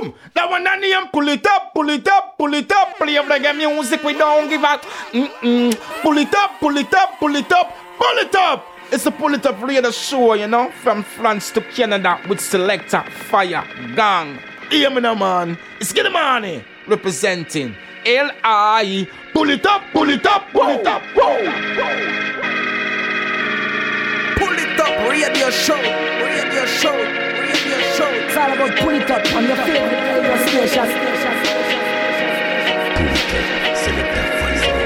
Boom! That one that name, pull it up, pull it up, pull it up. Play reggae music, we don't give up. Pull it up, pull it up, pull it up, pull it up. It's a Pull It Up radio show, you know, from France to Canada with Selector Fire Gang. Hear me now, man. It's Get the Money representing L.I. Pull it up, pull it up, pull it up. Whoa. Pull it up, radio show, radio show, radio show. It's all about pull it up on your favorite radio station. Pull it up, Selector Fire.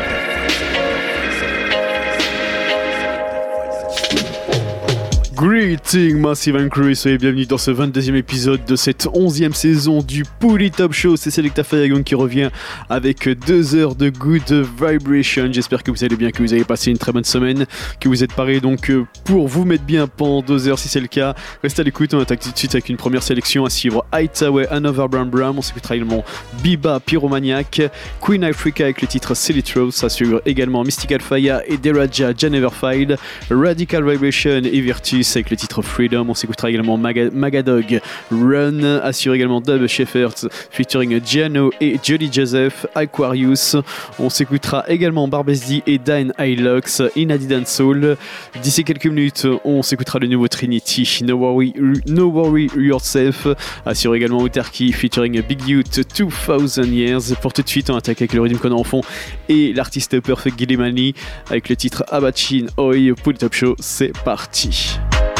Greeting Massive and Crew, soyez bienvenus dans ce 22e épisode de cette 11e saison du Pull It Up Show. C'est Selector Fire qui revient avec 2 heures de good vibration. J'espère que vous allez bien, que vous avez passé une très bonne semaine, que vous êtes parés donc pour vous mettre bien pendant 2 heures. Si c'est le cas, restez à l'écoute. On attaque tout de suite avec une première sélection à suivre. Hightower, Another Brown Brown. On s'écoutera également Biba Pyromaniac, Queen Africa avec le titre Silly Throw. Ça suivre également Mystical Fire et Deraja Janeverfied, Radical Vibration et Virtus avec le titre Freedom. On s'écoutera également Magadog Run, assure également Dub Shepherds featuring Giano et Jolly Joseph, Aquarius. On s'écoutera également Barbesdi et Dine Hylox, Inadi Dancehall. D'ici quelques minutes, on s'écoutera le nouveau Trinity, No Worry Yourself, assure également Autarky featuring Big Youth 2000 Years. Pour tout de suite, on attaque avec le rythme qu'on a en fond et l'artiste Perfect Gilimani avec le titre Abachin Oi. Pull It Up Show, c'est parti.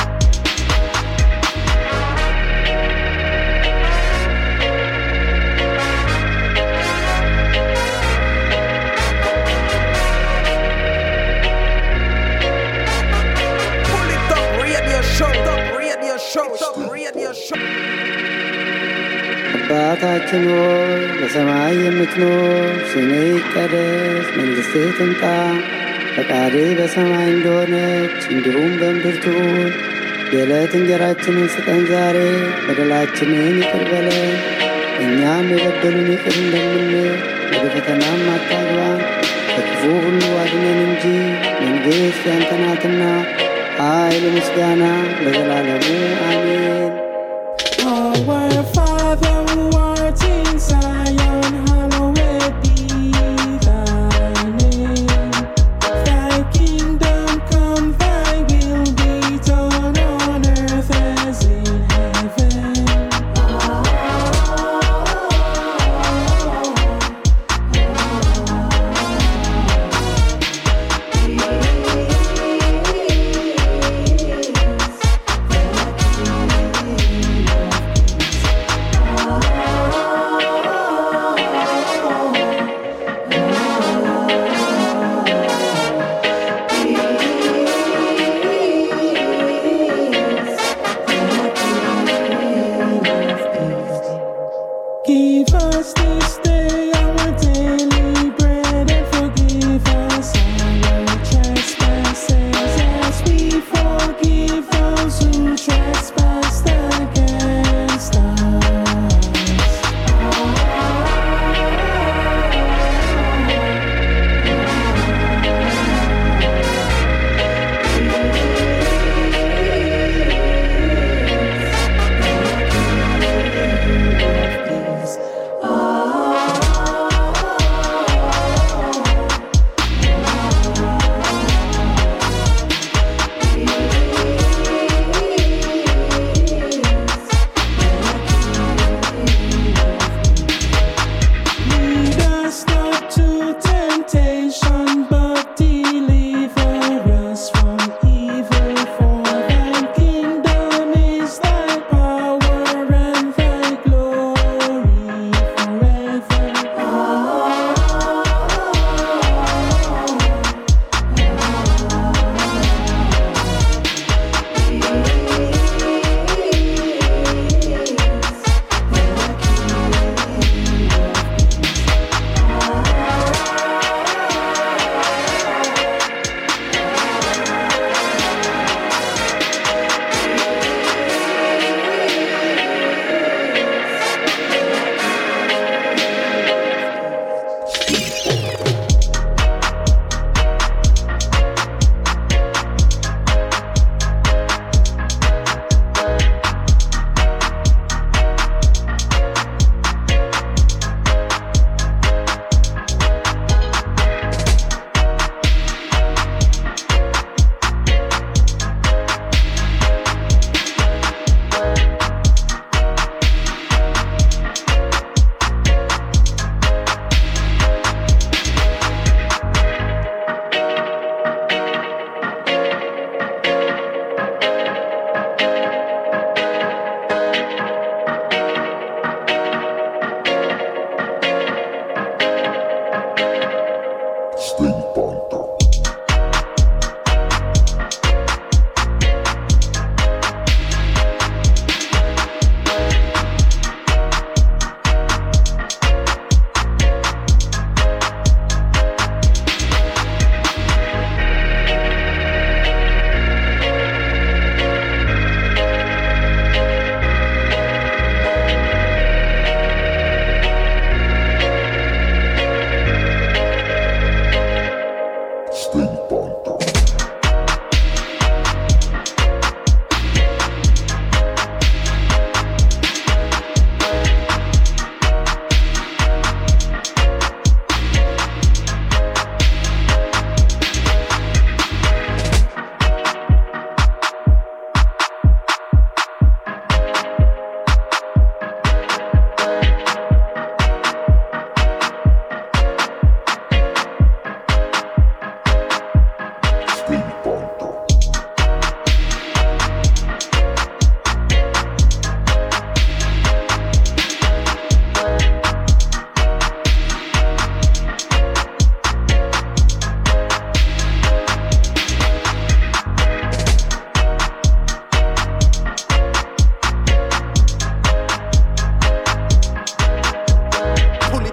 አባታችን ሆይ በሰማይ የምትኖር፣ ስምህ ይቀደስ፣ መንግሥትህ ትምጣ፣ ፈቃድህ በሰማይ እንደሆነች እንዲሁም በምድር ትሁን። የዕለት እንጀራችንን ስጠን ዛሬ፣ በደላችንን ይቅር በለን እኛም የበደሉን ይቅር እንደምንል፣ ወደ ፈተናም አታግባን ከክፉ ሁሉ አድነን እንጂ መንግሥት ያንተ ናትና ኃይል፣ ምስጋና ለዘላለሙ አሜን። Our Father who art in Zion, hallowed be thy name. Thy kingdom come, thy will be done on earth as in heaven. Give us this day our daily bread, and forgive us our trespasses, as we forgive those who trespass against us.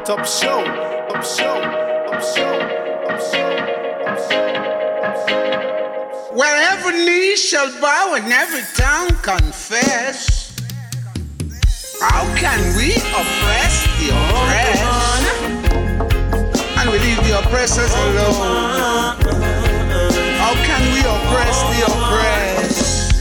Top show, top show, top show, top show, top show. Where every knee shall bow and every tongue confess. How can we oppress the oppressed? And we leave the oppressors alone. How can we oppress the oppressed?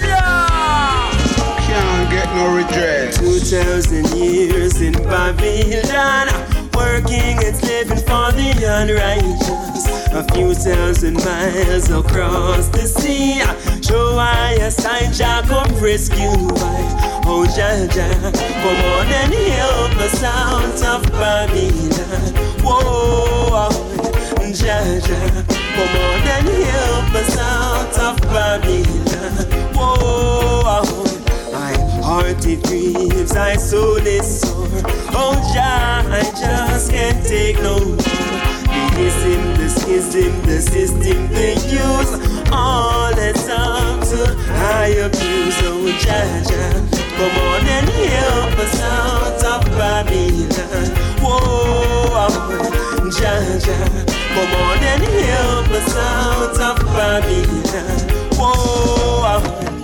Can't get no redress. 2,000 years in Babylon, working and slaving for the unrighteous. A few thousand miles across the sea, show I a sign Jah come rescue I. Oh Jah Jah, come on and help us out of Babylon. Whoa, Jah Jah, come on and help us out of Babylon. Whoa, my heart it grieves, my soul is sore. Oh Jah, I just can't take no more. The schism, the system they use, all it's up to high abuse. Oh Jah Jah, come on and help us out of Babylon. Whoa, Jah Jah, come on and help us out of Babylon. Whoa,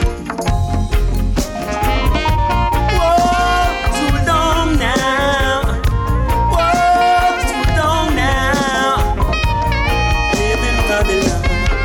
too long now. Whoa, too long now. Live in Babylon.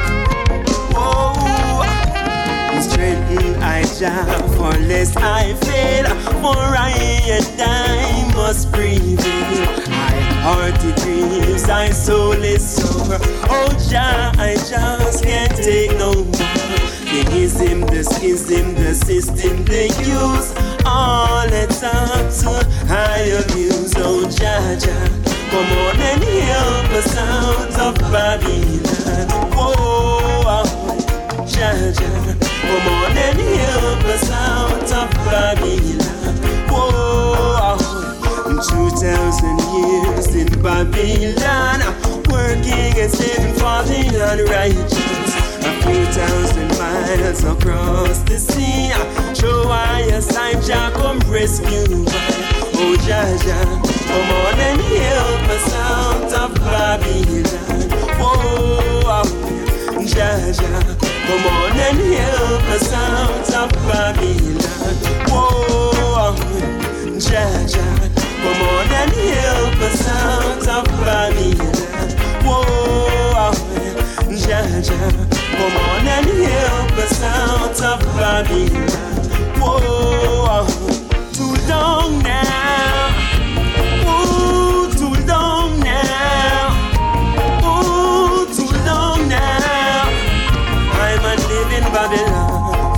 Whoa, strengthen I Jah, for lest I fail, for I and I must prevail. My heart it grieves, my soul is sore. Oh Jah, I just can't take no more. The ism, the schism, the system they use, all it's up to high abuse. Oh Jah Jah, come on and help us out of Babylon. Oh Jah Jah, come on and help us out of Babylon. Whoa, 2,000 years in Babylon, working and slaving for the unrighteous. A few thousand miles across the sea, show I a sign Jah come rescue I. Oh Jah Jah, come on and help us out of Babylon. Whoa, Jah Jah, come on and help us out of Babylon. Whoa, Jah Jah, come on and help us out of Babylon. Whoa, Jah Jah, come on and help us out of Babylon. Whoa, too long now. Ooh, too long now. Ooh, too long now. I'm a living Babylon.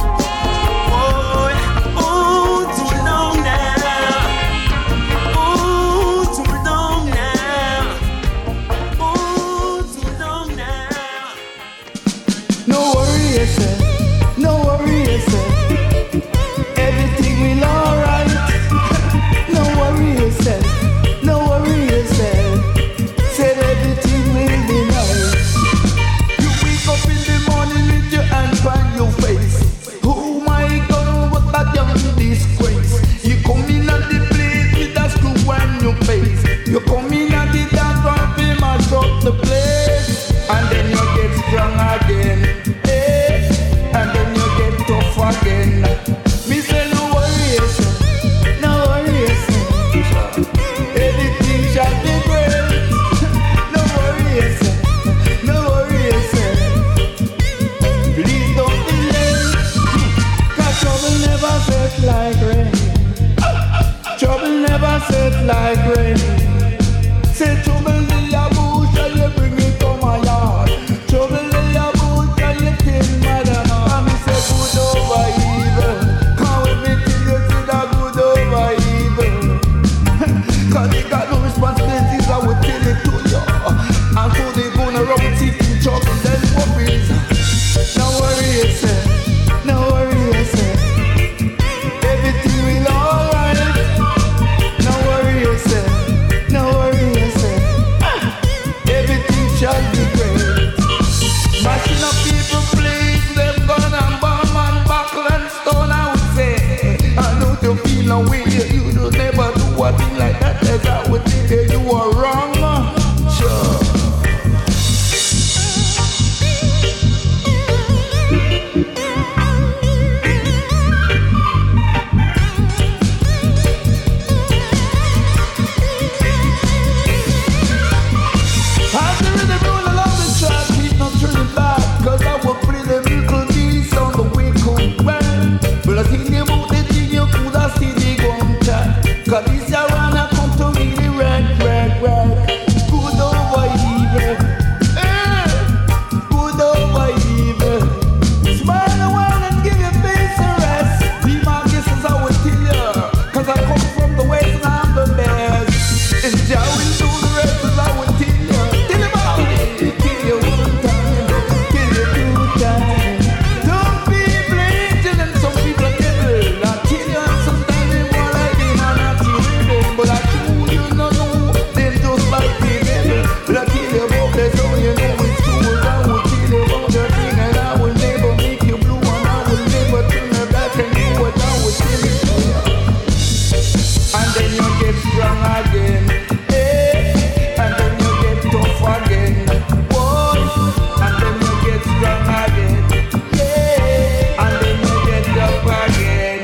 Oh, too long now. Oh, too long now. Oh, too long now. No worry yourself, no worry yourself. Everything will alright. No worry yourself, no worry yourself. Said everything will be nice. You wake up in the morning with your hand on your face. Oh my God, what a damn disgrace. You come in at the place with a screw on your face. You come in at the dance and be mash up the place. And then you get strong again. And then you get tough again. Me say no worry yourself, no worry yourself. Everything shall be great. No worry yourself, no worry yourself. Please don't delay. 'Cause trouble never set like rain. Trouble never set like rain. Say trouble in your bush and you bring it to my yard. Trouble in your bush and you kill mother. And me say good over evil. Come with me till you see the good over evil. 'Cause they got no responsibilities, I will tell it to you. And so they gonna rub it in trouble and worries. No worry yourself, no worry yourself. Everything will alright. No worry yourself, no worry yourself. again. Hey, and then you get tough again. Boy, and then you get strong again. Yeah, and then you get up again.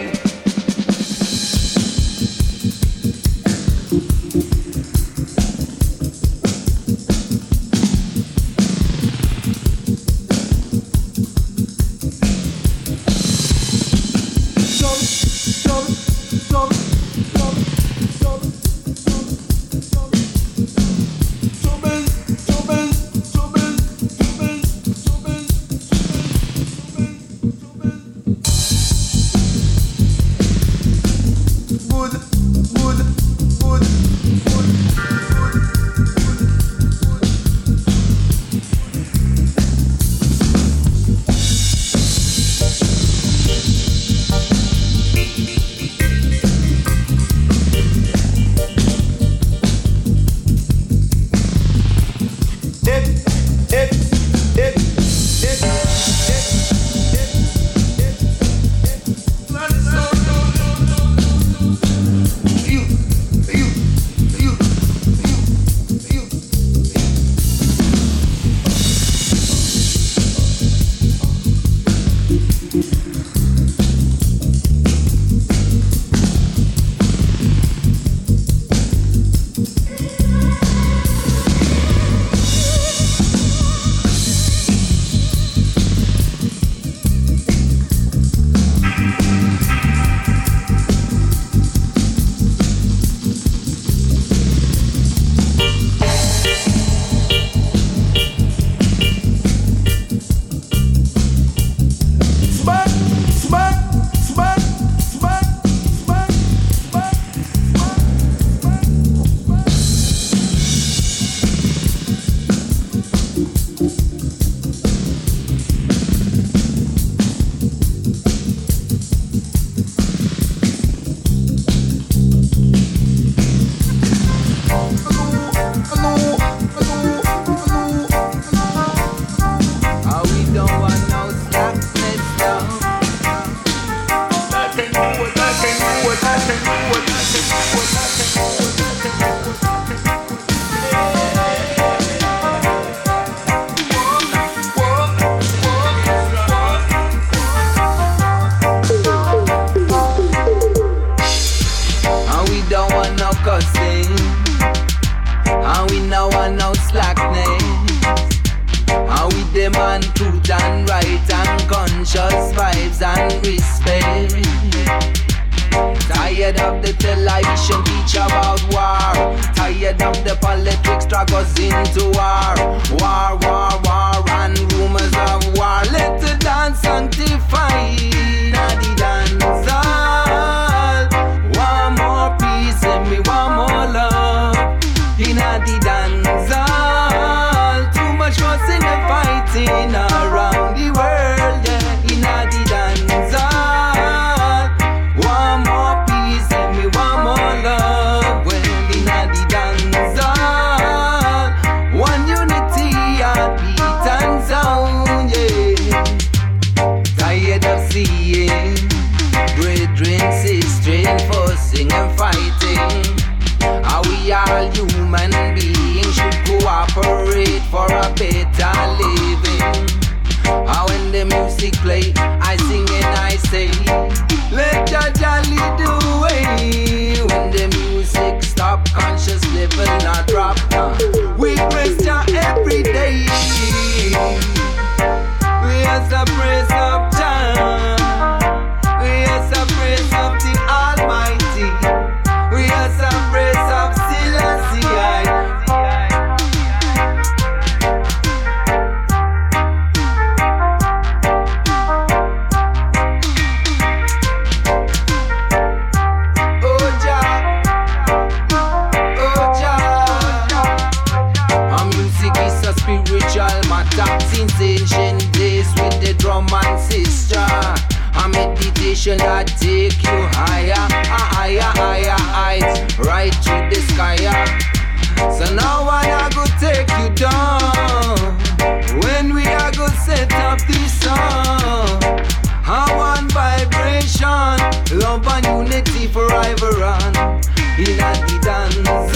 Love and unity forever on in the dance.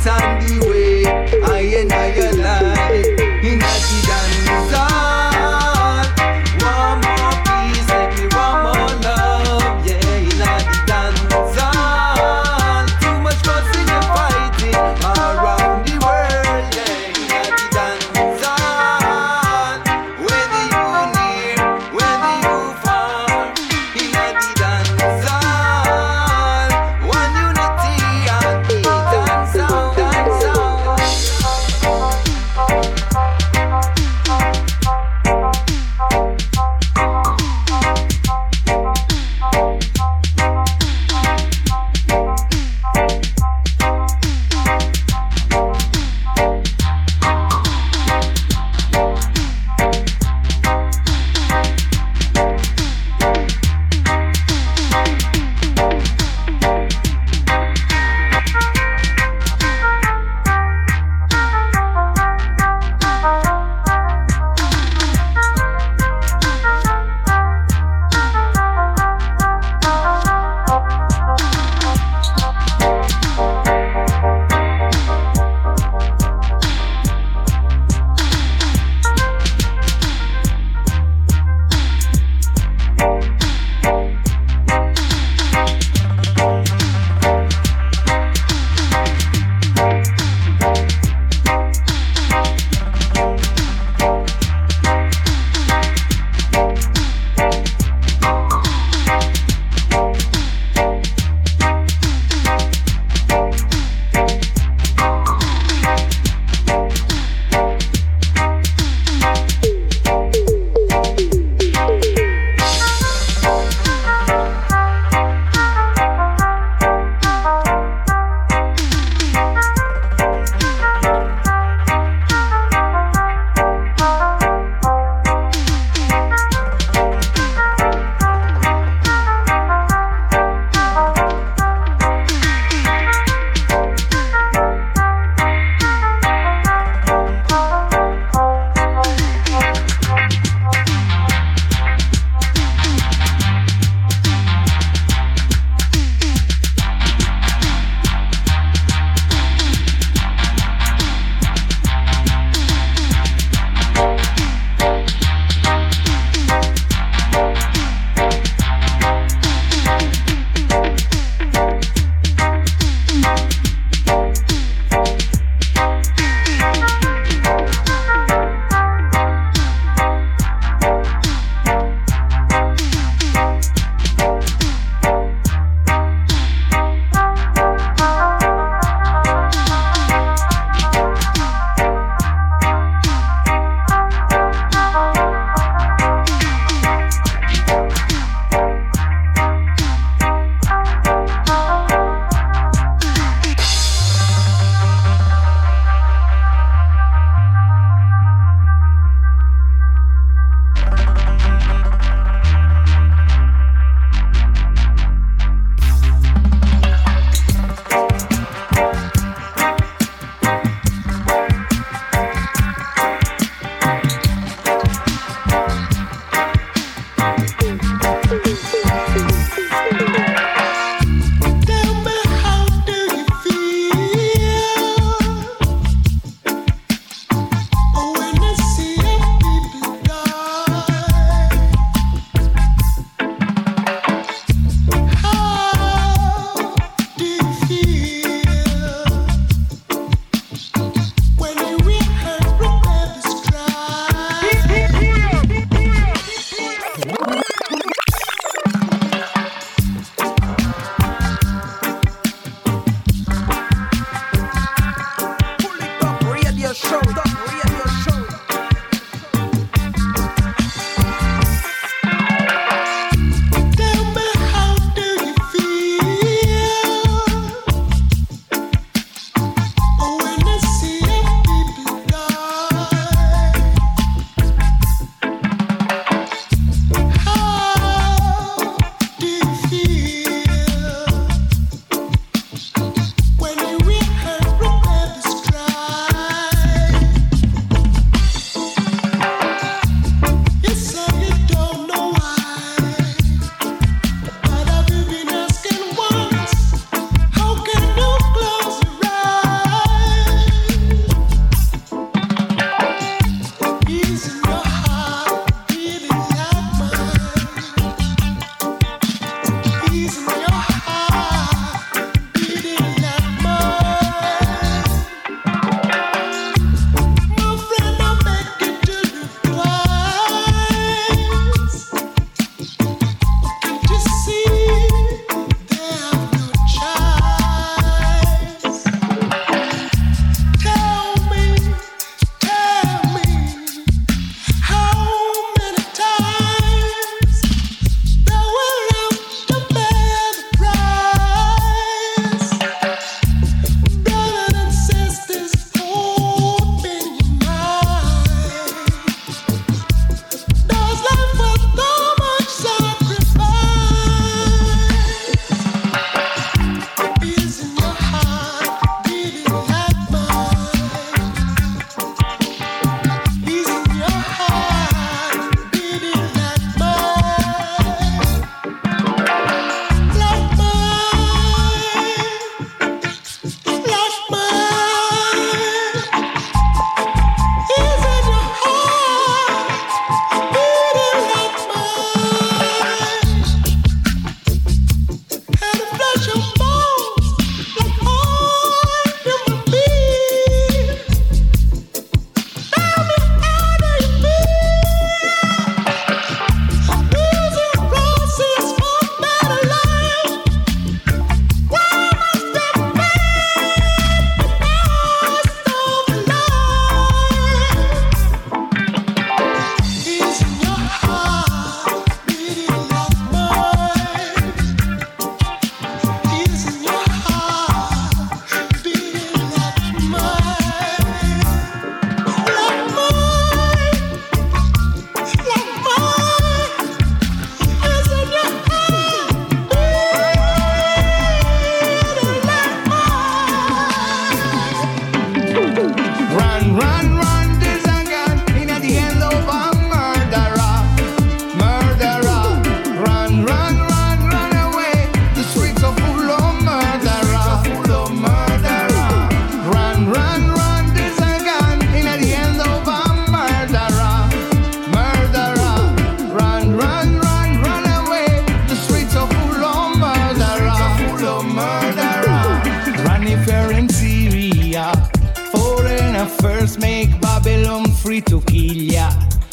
dance and the way I and I alive in the dance hall. One more peace, let me one more love, yeah, in the dance hall. Too much fussing and fighting around the world, yeah, in the dance hall. Whether you near, whether you far, in the dance hall. One unity and the dance hall, dance hall.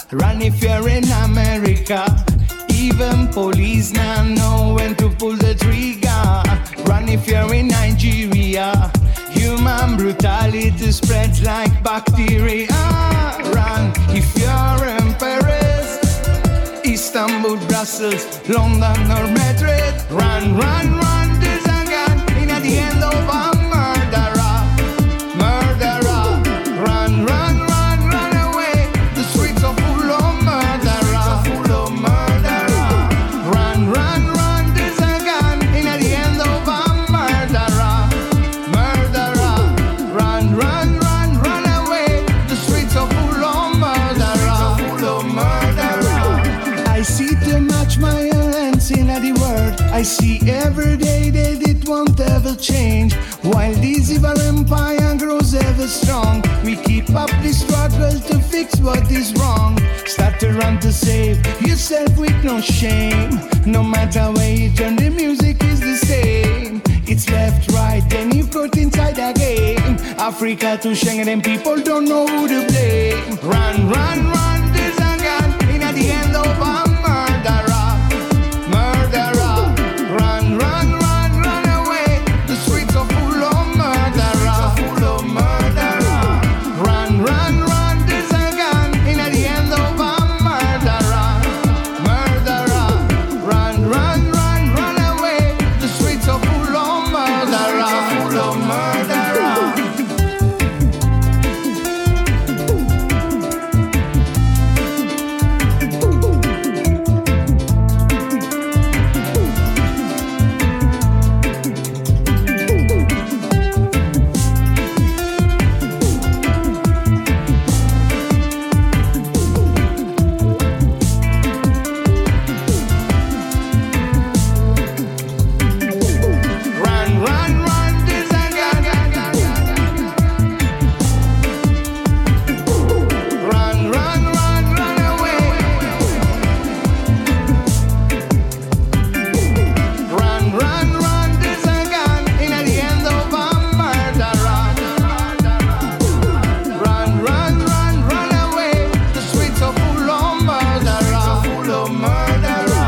Run if you're in America. Even police now know when to pull the trigger. Run if you're in Nigeria. Human brutality spreads like bacteria. Run if you're in Paris, Istanbul, Brussels, London or Madrid. Run, run, run, there's a gun in at the end of a murderer. Murderer. Run, run, run, run away. The streets are full of murderer. Full of murderer. Run, run, run, there's a gun in at the end of a murderer. Murderer. Run, run, run, run away. The streets are full of murderer. Full of murderer. I see too much violence in the world. I see every day that it won't ever change. While this evil empire grows ever strong, we keep up the struggle to fix what is wrong. Start to run to save yourself with no shame. No matter where you turn, the music is the same. It's left, right, then you put inside the game. Africa to Schengen, and people don't know who to blame. Run, run, run, there's a gun in at the end of a murderer. Murderer. Run, run, run, run away. The streets are full of murderer. Full of murderer. Run, run, run, there's a gun in at the end of a murderer. Murderer. Run, run, run, run away. The streets are full of murderer. Full of murderer. Run, run, run, there's a gun. Run, run, run, run away. Run, run, run, there's a gun in at the end of a murderer. Run, run, run, run away. The streets are full of murderer. Full of murderer.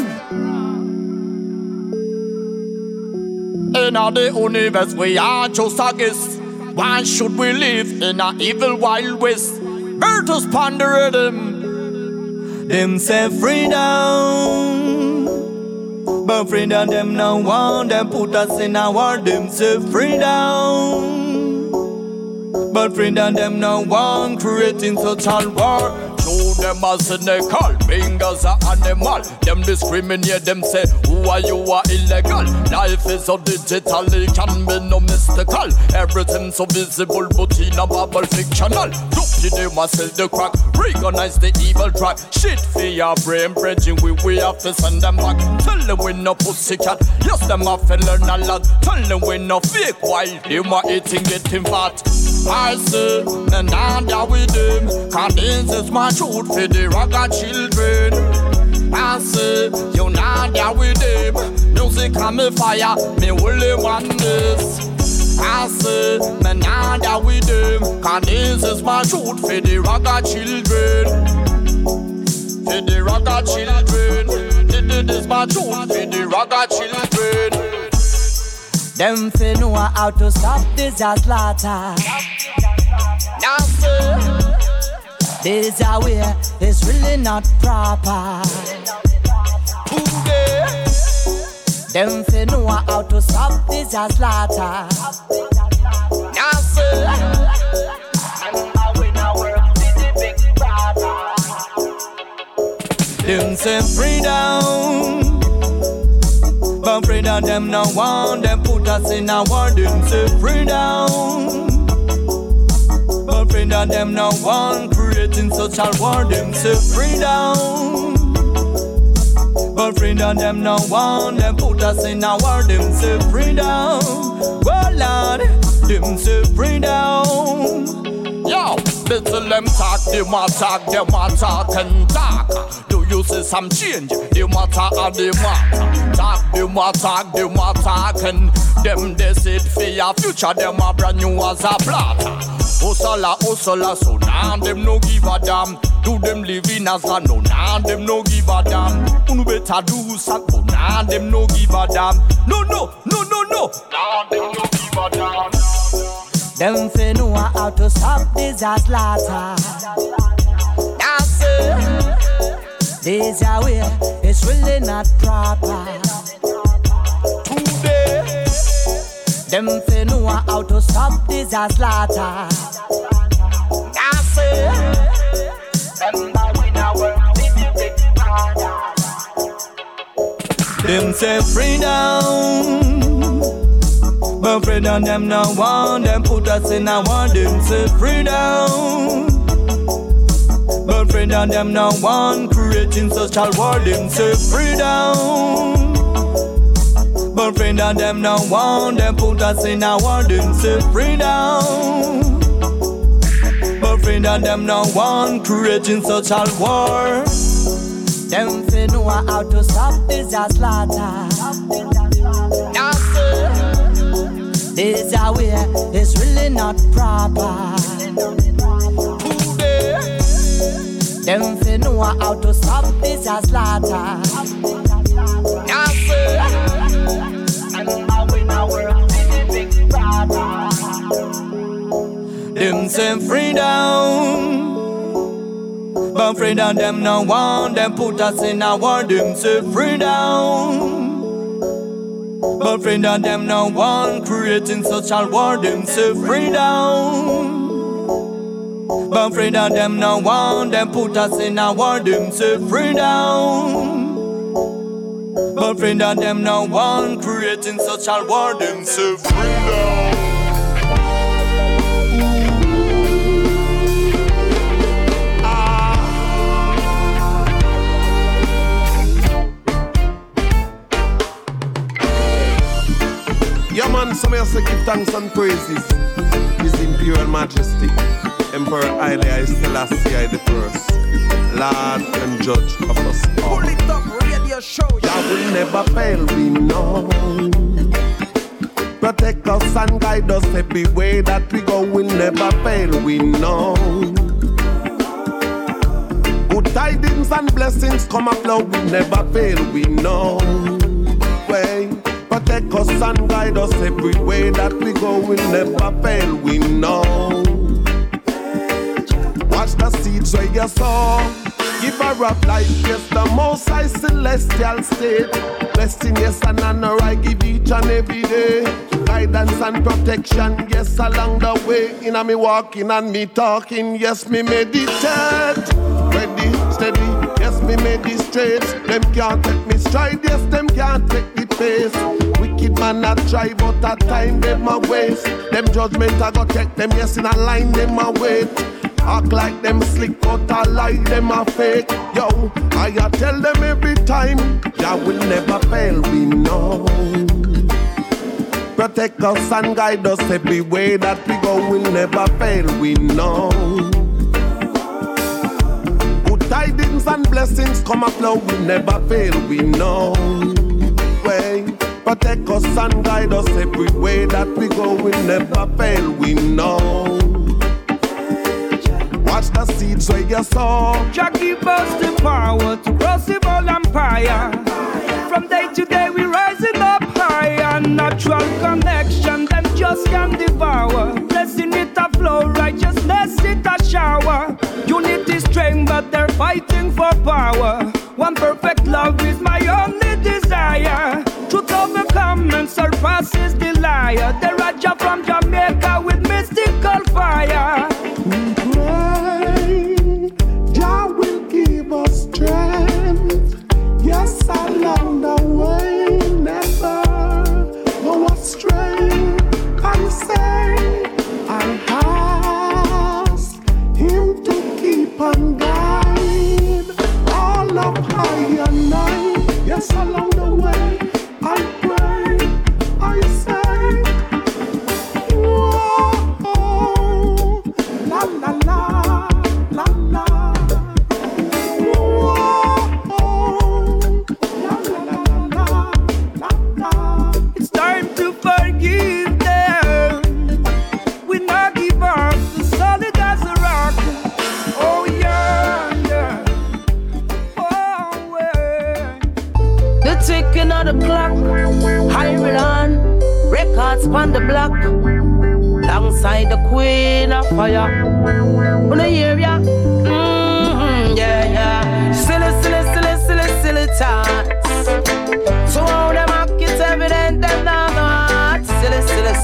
In the universe we are just a guest. Why should we live in a evil wild west? Virtus ponder rhythm. Them say freedom, but freedom them no want. Them put us in a war. Them say freedom, but freedom them no want. Creating such a war. Show them a cynical, fingers are animal. Them discriminate, them say, who are you are illegal. Life is so digital, it can be no mystical. Everything so visible, but in a bubble fictional. Dopey, they must sell the crack, recognize the evil track. Shit for your brain, bridging, we have to send them back. Tell them we no pussycat, yes, them have to learn a lot. Tell them we no fake, while they are eating, getting fat. I say, and now with them, cause this is my truth for the ragga children. I say, you now there with them, music and me fire, me only want this. I say, me now there with them, cause this is my truth for the ragga children. For the ragga children, this is my truth for the ragga children. Them fi know how to stop this slaughter. Now sir, this a way is really not proper. Them fi know how to stop this slaughter. Now sir, them say freedom, but freedom them no want. Them put us in a war. Them say freedom, but freedom them no want. Creating such a war. Them say freedom, but freedom them no want. Them put us in a war. Them say freedom, oh Lord. Them say freedom. Yo, little them talk, them a talk and talk. Do you see some change? Them a talk and them a talk, them a talk and them they said for your future, them a brand new as a plot. Hustler, so now them no give a damn. Do them living as a no, now them no give a damn. Unu better do something, now them no give a damn. No, now them no give a damn. Them fi know how to stop this a slaughter. That's it. This a way, it's really not proper. Today, them fi know how to stop this a slaughter. that's it. Remember we now work with the big brother. Them say free down. But freedom them no want, them put us in a war, them say freedom. But freedom them no want, creating social war, them say freedom. But freedom them no want, them put us in a war, them say freedom. But freedom them no want, creating social war. Them fi know how to stop this a slaughter. That's it. This a way, it's really not proper. Today, them fi know how to stop this a slaughter. that's it. Remember we now work with the big brother. Them say freedom. But freedom them no want, them put us in a war, them say freedom. But freedom them no want, creating social war, them say freedom. But freedom them no want, them put us in a war, them say freedom. But freedom them no want, creating social war, them say freedom. Yeah man, some of us give thanks and praises His Imperial Majesty Emperor Haile Selassie I the First, Lord and Judge of us all. Pull it up, radio show. Jah will never fail, we know. Protect us and guide us every way that we go will never fail, we know. Good tidings and blessings come aflow, will never fail, we know. Way. Protect us and guide us every way that we go will never fail, we know. Watch the seeds where you sow. Give her up life, yes, the most high celestial state. Blessing, yes, and honor I give each and every day. Guidance and protection, yes, along the way. In a me walking and me talking, yes, me meditate. Ready, steady, yes, me meditate. Them can't take me stride, yes, them can't take the pace. Wicked man not try, but at time them a waste. Them judgment I go take them, yes, in a line them a wait. Act like them slick, but I like them a fake. Yo, I tell them every time, Jah will never fail, we know. Protect us and guide us every way that we go will never fail, we know. Good tidings and blessings come aflow, will never fail, we know. Way. Protect us and guide us every way that we go will never fail, we know. Watch the seeds where you sow. Jah give us the power to cross the whole empire. From day to day we rising up higher. Natural connection, them just can devour. Blessing it a flow, righteousness it a shower. Unity strength, but they're fighting for power. One perfect love is my only desire. Truth overcome and surpasses the liar. The Raja from Jamaica with mystical fire. Jah will give us strength. Yes, along the way, never go astray. I say, I ask Him to keep on guide all of high and night. Yes, along the way, I pray. I say, records on the block, alongside the queen of fire. Wanna hear ya? Yeah, yeah. Silly thoughts. So all them act, it's evident them not. Silly.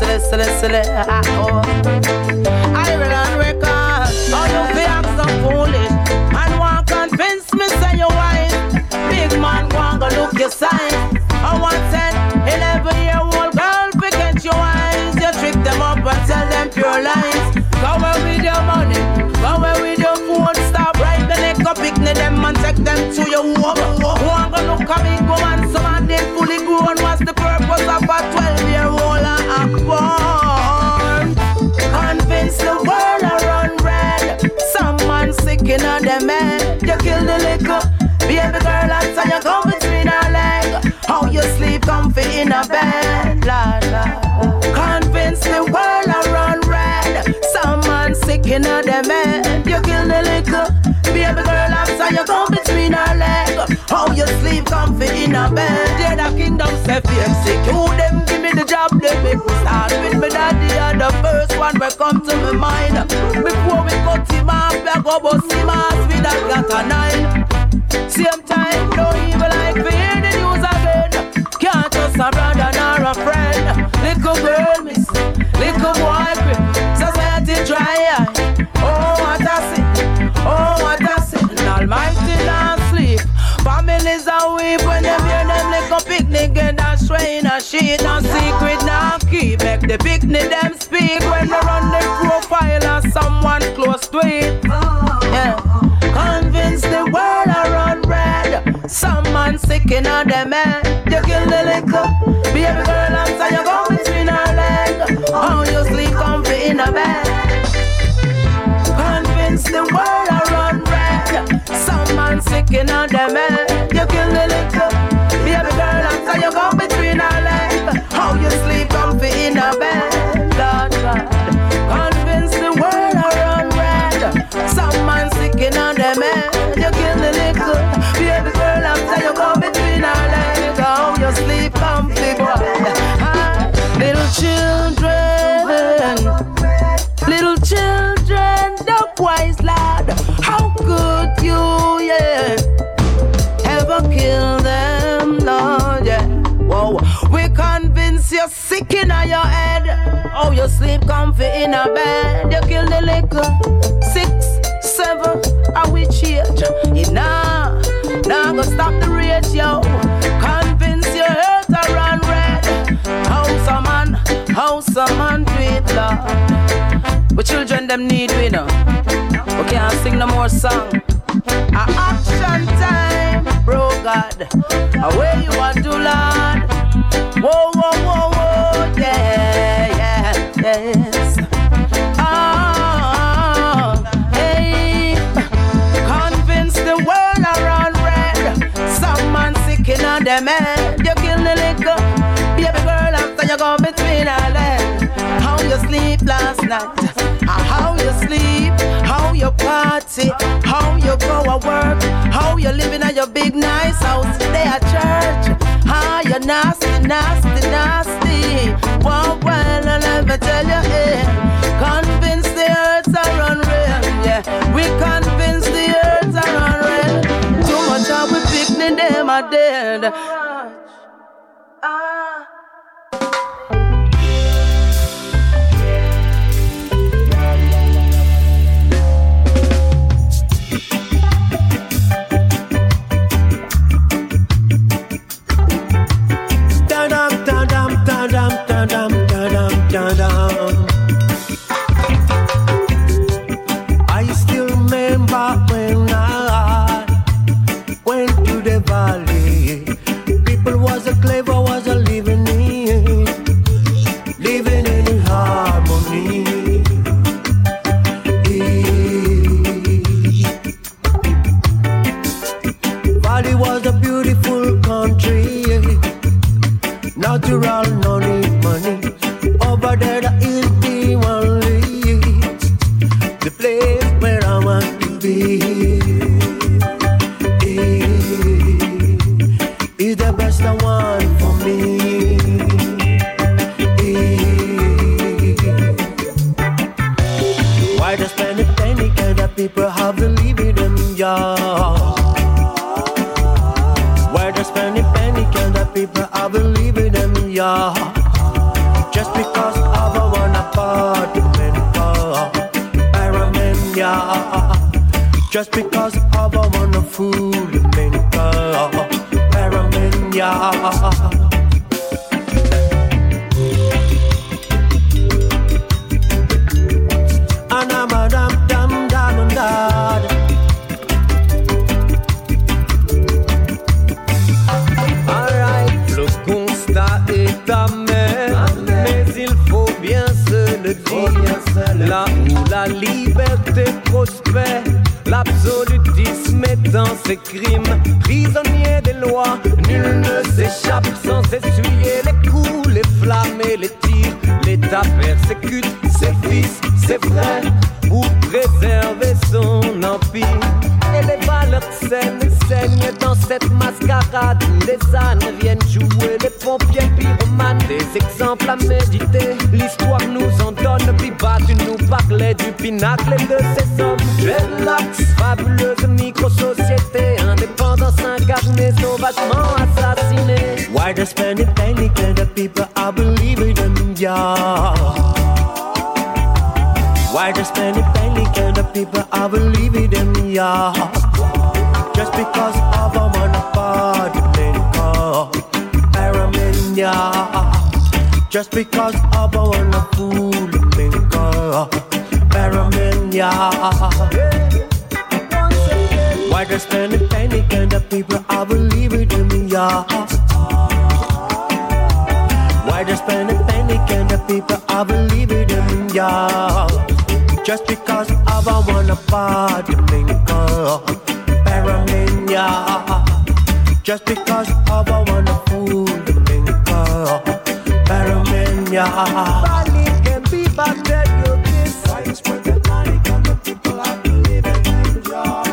Ireland record. All you be act so foolish. And want convince me say you wise. Big man go look your sign. I want 10, 11-year-old girl forget your eyes. You trick them up and tell them pure lies. Go away with your money, go away with your phone. Stop right the neck up, picnic them and take them to your home. Who am gonna look at me go and some of them fully grown. What's the purpose of a 12-year-old and born? Convince the world I run red. Some man sick in them head. You kill the liquor, baby girl, and you go between her leg. How you sleep comfy in a bed, la la. Convince the world I run red. Some man sick in them head. You kill the liquor, baby girl, after you go between her leg. How you sleep comfy in a bed. Yeah, the kingdom say sick. You them give me the job, they make me start with me daddy. And the first one will come to my mind. Before we cut him off, we go bust him off with a cat a 9. Same time, don't even like to hear the news again. Can't trust a brother nor a friend. Little girl miss, little boy grip. Society dry. Oh, what I see, oh, what I see. And Almighty don't sleep. Families are weep when they hear them little picnic and a strain a sheet. No secret, no keep. Make the picnic them speak when they run the profile of someone close to it. Yeah. Convince the world I run red. Some man sick in them head. You kill the liquor, baby girl, after you go between her leg. How you sleep comfy in a bed. Convince the world I run red. Some man sick in them head. You kill the liquor, baby girl, after you go between her leg. How you sleep comfy in a bed. God. Convince the world I run red. Some man sick in them head. You kill the liquor, baby girl, after you go between her legs. How you sleep comfy, boy. Little children, duck wise lad. How could you, yeah, ever kill them, Lord, yeah. Whoa, we convince you sick in your head. Oh, you sleep comfy in a bed. You kill the liquor. 6, 7, I will change. It nah go stop the rage, yo. Convince your earth to run red. How some man do it, Lord. But children them need we know. We can't sing no more song. A action time, bro God. Where you want to, Lord? Whoa, yeah, yes. Hey. Convince the world around red. Some man sick in them head. You kill the liquor, baby girl, after you go between her legs. How you sleep last night? How you sleep? How you party? How you go to work? How you living at your big nice house? They at church. How you nasty. Well, let me tell you, convince the earth to run real. Yeah, we convince the earth to run real. Too much of we picnic them are dead. I still remember when I went to the valley. People was a clever, was a living in harmony. Valley was a beautiful country, natural, no need money. Over there, the hill team only, the place where I want to be. Is the best one for me. believe in them, yeah. Just because of a one apartment, pyramid, yeah. Just because of a one food, pyramid, yeah. Alright, le constat est amer, mais il faut bien se le dire. Là où la liberté prospère, l'absolutisme est dans ses crimes. Prisonnier des lois, nul ne s'échappe sans essuyer les coups, les flammes et les tirs. L'État persécute ses fils, ses frères, pour préserver son empire. Et les valeurs saines saignent dans cette mascarade où les ânes viennent jouer les pompiers pyromanes. Des exemples à méditer, l'histoire nous en donne. Biba, tu nous parlais du pinacle et de ces hommes. Dreadlocks, fabuleuse micro-société, indépendance incarnée, sauvagement assassinée. Why the spending panic and the people I believe in them, yeah. Why the spending panic and the people I believe in them, yeah. Just because of a one apartment car, pyramid, yeah. Just because of a one food car, pyramid, yeah. Why the spending panic and the people I believe in them, yeah. Why the spending panic and the people I believe in them, yeah. Just because of a one apartment car, pyramid, yeah. Just because of a one food car, pyramid, yeah. Bali can be back there, you this. Why you spread the panic on the people I believe in them, yeah.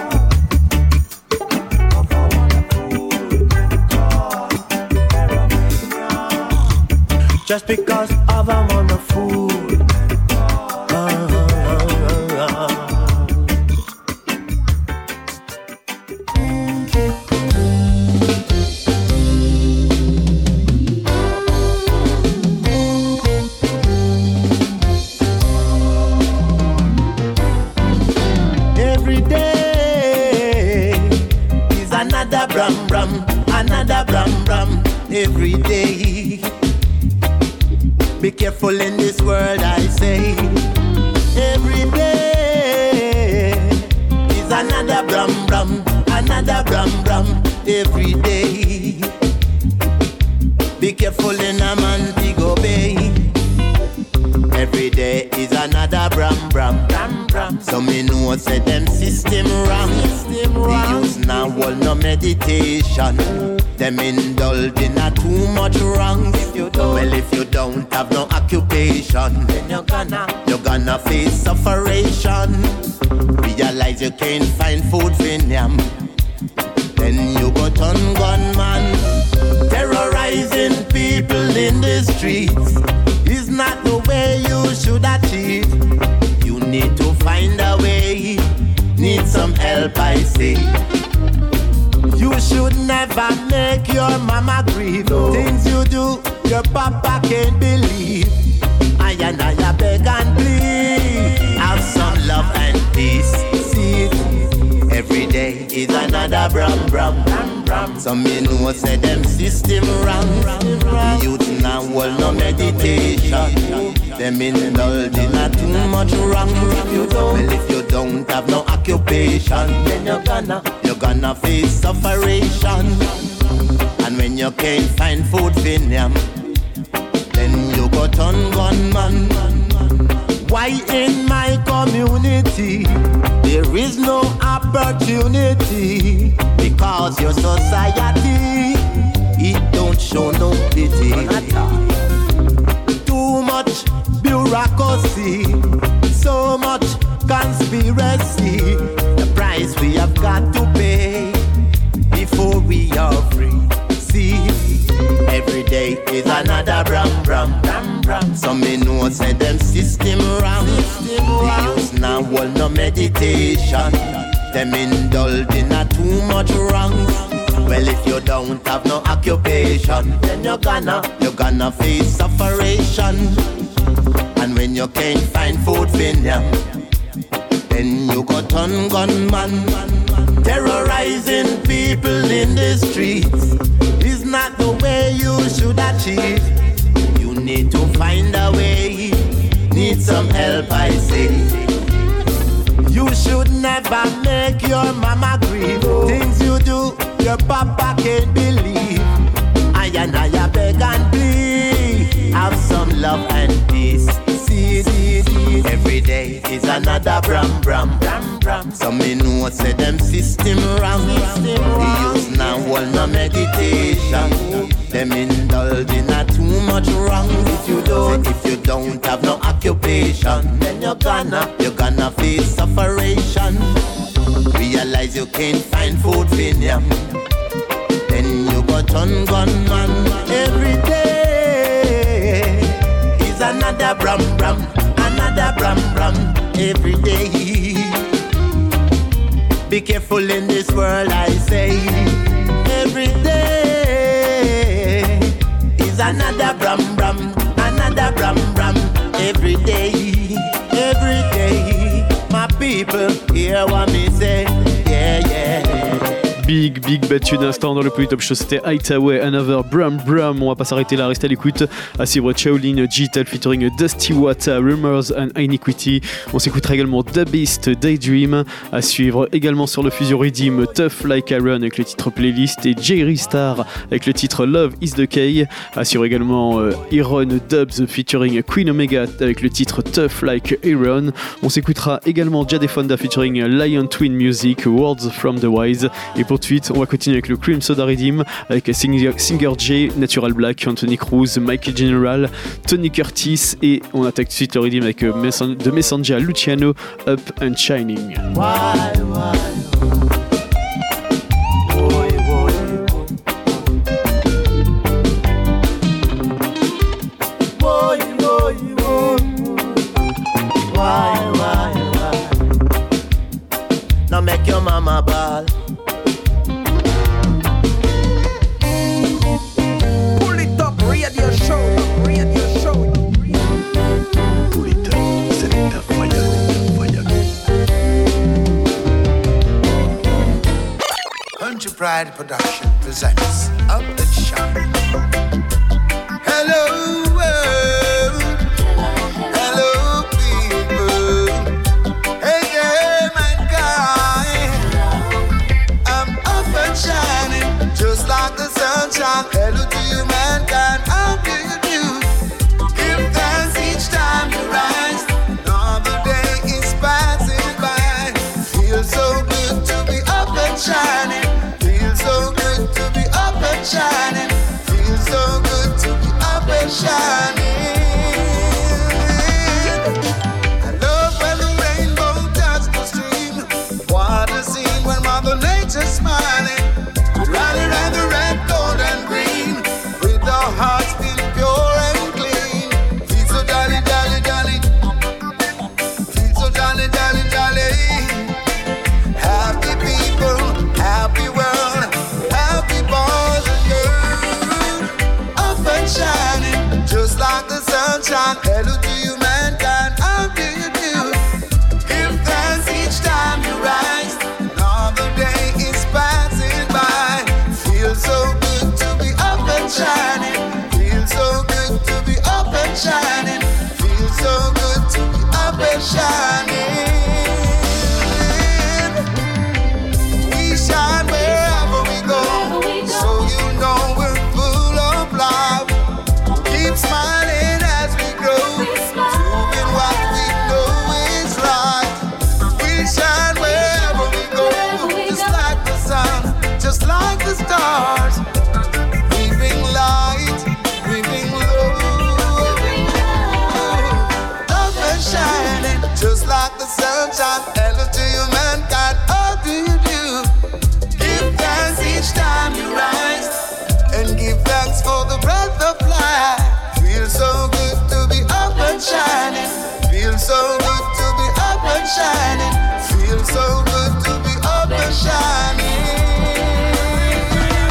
Of a one food car, pyramid, yeah. Just because of a one food. Another bram bram every day. Be careful in this world, I say. Every day is another bram bram every day. Be careful in a man big obey. Every day is another bram. So me know say them system wrong. They use now all no meditation. Them indulge in a too much wrong. If you don't have no occupation, then you're gonna face sufferation. Realize you can't find food for them, then you go turn gunman. Terrorizing people in the streets is not the way you should achieve. You need to find a way. Need some help, I say. You should never make your mama grieve. No. Things you do, your papa can't believe. I beg and plead. Have some love and peace. See it. Every day is another bram. Some me know say them system wrong. The youth now will no meditation. Them indulge in a too much wrong. If you don't have no occupation, then you're gonna face sufferation. And when you can't find food for them, then you go turn gunman. Why in my community there is no opportunity? Because your society, it don't show no pity. Too much bureaucracy, so much conspiracy. The price we have got to pay before we are free. See, every day is another bram. Some me know say them system wrong. They use now all no meditation. Them indulge in a too much wrong. Well, if you don't have no occupation, then you're gonna face sufferation. And when you can't find food for them, then you go turn gunman. Terrorizing people in the streets is not the way you should achieve. You need to find a way, need some help, I say. You should never make your mama grieve. Things you do, your papa can't believe. I beg and plead, have some love and peace. See, every day is another bram. Some me know say them system wrong. They use now all no meditation. Them indulge in a too much wrong. If you don't have no occupation, then you're gonna face sufferation. Realize you can't find food for them, then you go turn gunman. Every day is another bram. Every day. Be careful in this world, I say. Every day is another bram. Every day. My people hear what me say. Yeah. Big battu d'instant dans le Polytop Show, c'était Hightower, Another Bram. On va pas s'arrêter là, restez à l'écoute. À suivre Shaolin Digital featuring Dusty Wata, Rumors and Iniquity. On s'écoutera également Da Beast, Daydream. À suivre également sur le Fusion Redeem, Tough Like Iron avec le titre Playlist et Jerry Star avec le titre Love is the Key. À suivre également Iron Dubs featuring Queen Omega avec le titre Tough Like Iron. On s'écoutera également Jade Fonda featuring Lion Twin Music, Words from the Wise. Et pour suite, on va continuer avec le Cream Soda Redeem avec Singer J, Natural Black, Anthony Cruz, Michael General, Tony Curtis et on attaque tout de suite le Redeem avec The Messenger, Luciano, Up and Shining. Now make your mama ball. Radio show. Polytop, Selecta Fire. Country Pride Production presents Up and Shine. Hello world, hello people, hey mankind. I'm up and shining, just like the sunshine. Hello to you mankind. How do you do? Give thanks each time you rise. Another day is passing by. Feels so good to be up and shining. Feels so good to be up and shining. Feels so good to be up and shining. I love when the rainbow touches the stream. What a scene when Mother Nature's smiling. Rally round the red, gold and green. With our hearts being pure and clean. Feel so jolly. Feel so jolly. Happy people, happy world, happy boys and girls. Up and shining, just like the sunshine. Hello to you mankind, how do you do? Give thanks each time you rise. Another day is passing by. Feels so good to be up and shining. Feels so good to be up and shining. Feels so good to be up and shining. We shine wherever we go, so you know we're full of love. Keep smiling as we grow, doing what we know is right. We shine wherever we go, just like the sun, just like the stars. We bring light, we bring love. Up and shining, just like the sunshine. Hello to you mankind, how do you do? Give thanks each time you rise, and give thanks for the breath of life. Feels so good to be up and shining. Feels so good to be up and shining. Feels so good to be up and shining.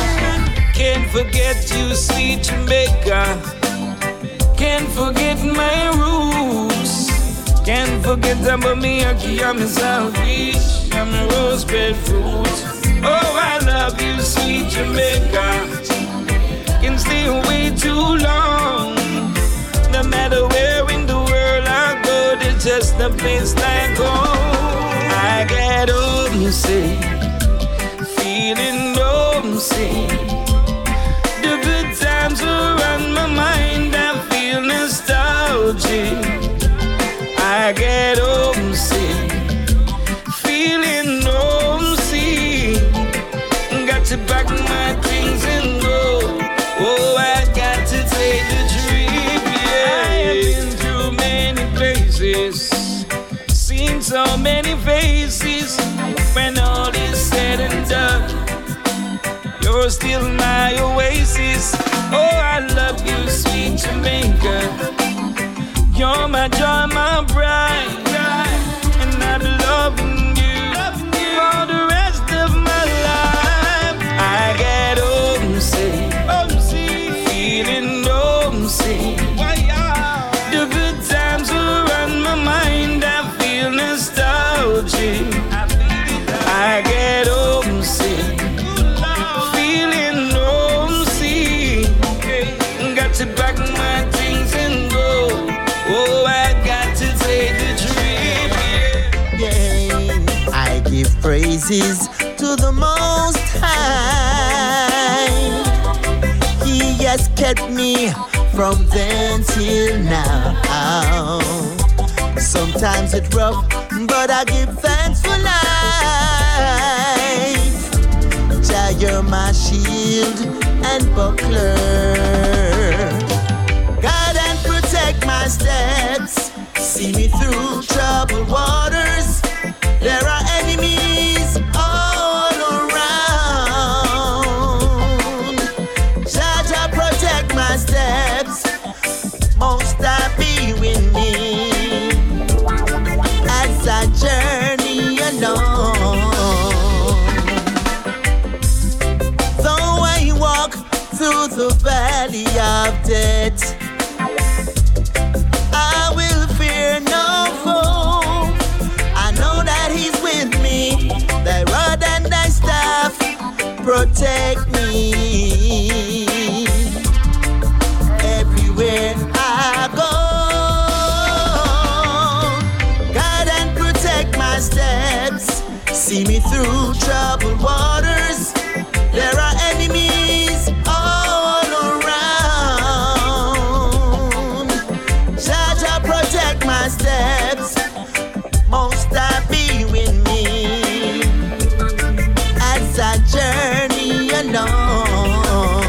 forget you, sweet Jamaica. Can't forget my roots. Can't forget about me, Aki, I'm a selfish. I'm a rose bed fruit. Oh, I love you, sweet Jamaica. Can't stay away too long. No matter where in the world I go, there's just a place like home. I get homesick, feeling homesick. The good times are on my mind, I feel nostalgic. I get homesick, feeling homesick. Got to pack my things and go. Oh, I got to take the trip, yeah. I have been through many places, seen so many faces. When all is said and done, you're still my oasis. Oh, I love you, sweet Jamaica. You're my joy, my pride, and I'm loving you for the rest of my life. I get homesick, feeling homesick. The good times are on my mind, I feel nostalgic. I get homesick, feeling homesick. Got to pack my things and go. Oh, I got to take the trip, yeah. I give praises to the Most High. He has kept me from then till now. Sometimes it's rough, but I give thanks for life. Jah, you're my shield and buckler. Guide and protect my steps. See me through troubled waters. There are enemies all around. Jah, Jah, protect my steps. Most I be with me as I journey alone. Though I walk through the valley of death, I will fear no foe. I know that He's with me. Thy rod and thy staff protect me. Everywhere I go, guide and protect my steps. See me through troubled waters. There are enemies all around. Jah, Jah, protect my steps. Most I be with me as I journey alone.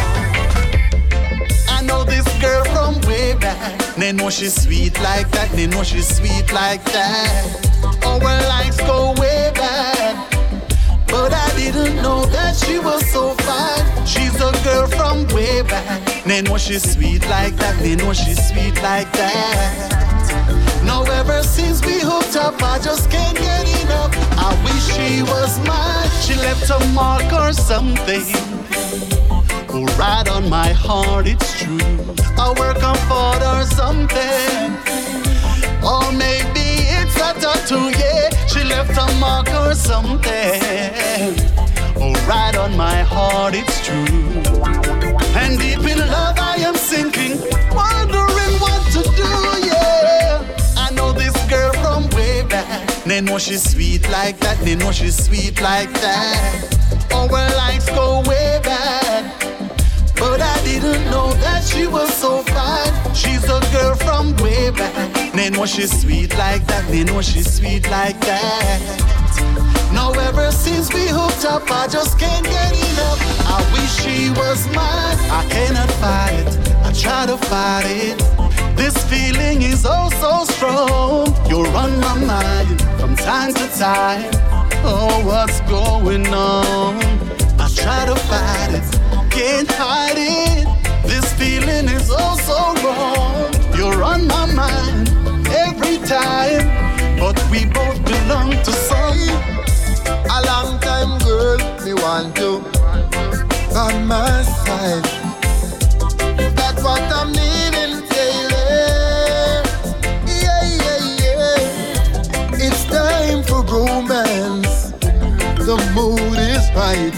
I know this girl from way back. They know she's sweet like that. They know she's sweet like that. Our lives go way back, but I didn't know that she was so fine. She's a girl from way back. They know she's sweet like that. They know she's sweet like that. Now ever since we hooked up, I just can't get enough. I wish she was mine. She left a mark or something. Oh, right on my heart, it's true. I work on for or something. Or maybe it's a tattoo, yeah. She left a mark or something. Oh, right on my heart, it's true. And deep in love I am sinking, wondering what to do, yeah. I know this girl from way back. They know she's sweet like that. They know she's sweet like that. Our lives go way back, but I didn't know that she was so fine. She's a girl from way back. They know she's sweet like that. They know she's sweet like that. Now ever since we hooked up, I just can't get enough. I wish she was mine. I cannot fight it. I try to fight it. This feeling is oh so strong. You're on my mind from time to time. Oh, what's going on? I try to fight it, can't hide it. This feeling is oh so wrong. You're on my mind every time, but we both belong to some. A long time, girl, me want to by my side. That's what I'm needing daily. Yeah, yeah, yeah. It's time for romance. The mood is right.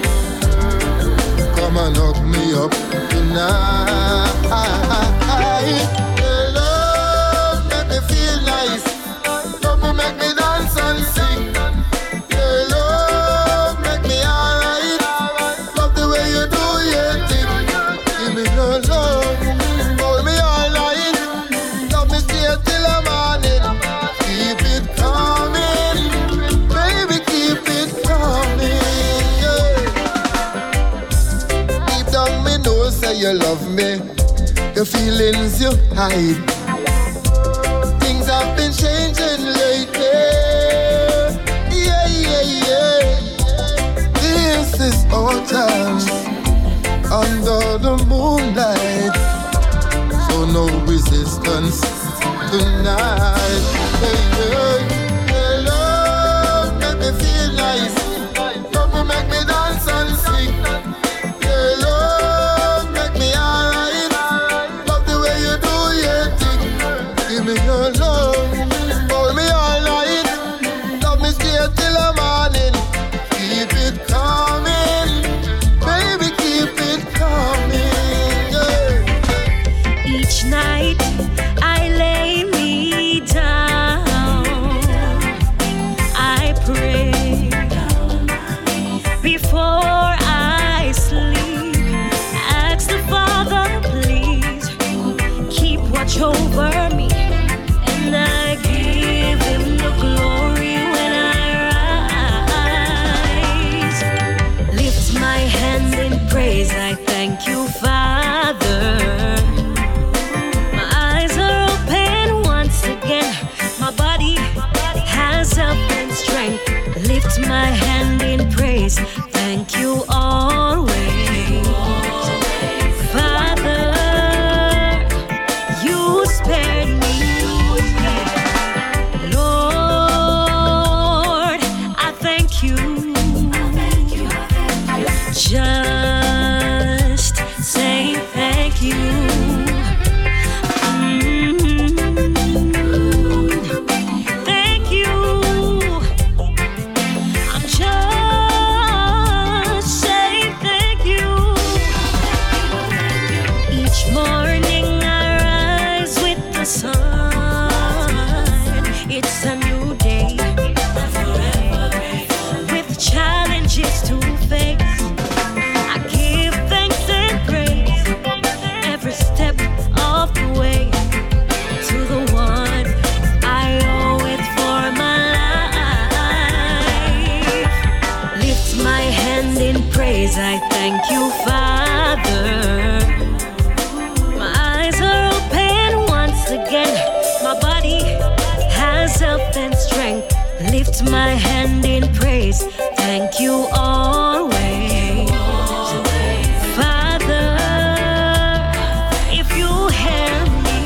Come and hook me up tonight. Your love make me feel nice. Love me make me dance and sing. Your love make me alright. Love the way you do your thing. Give me your love, hold me all night. Love me stay till the morning. Keep it coming, baby, keep it coming. Yeah. Deep down me know say you love me. The feelings you hide. Things have been changing lately. Yeah, yeah, yeah. This is our chance under the moonlight. So no resistance tonight. Hey, hey. Your love make me feel nice. Love me make me dance and sing. Your love make me alright. Love the way you do your thing. Give me your love, hold me all night. Love me stay till the morning. Keep it coming, baby, keep it coming. Yeah. Each night I lay me down, I pray before I sleep. Ask the Father, please keep watch over me, and I give Him the glory when I rise. Lift my hand in praise, I thank you, Father. My eyes are open once again. My body has health and strength. Lift my hand in praise. Thank you always. Father, you spared me. Lord, I thank you. Just say thank you. Thank you. I'm just saying thank you. Each morning I rise with the sun. It's a new day with challenges to face. I give thanks and praise every step of the way to the one I owe it for my life. Lift my hand in praise, I thank you, Father. My eyes are open once again. My body has health and strength. Lift my hand in praise, thank you always. Father, if you hear me.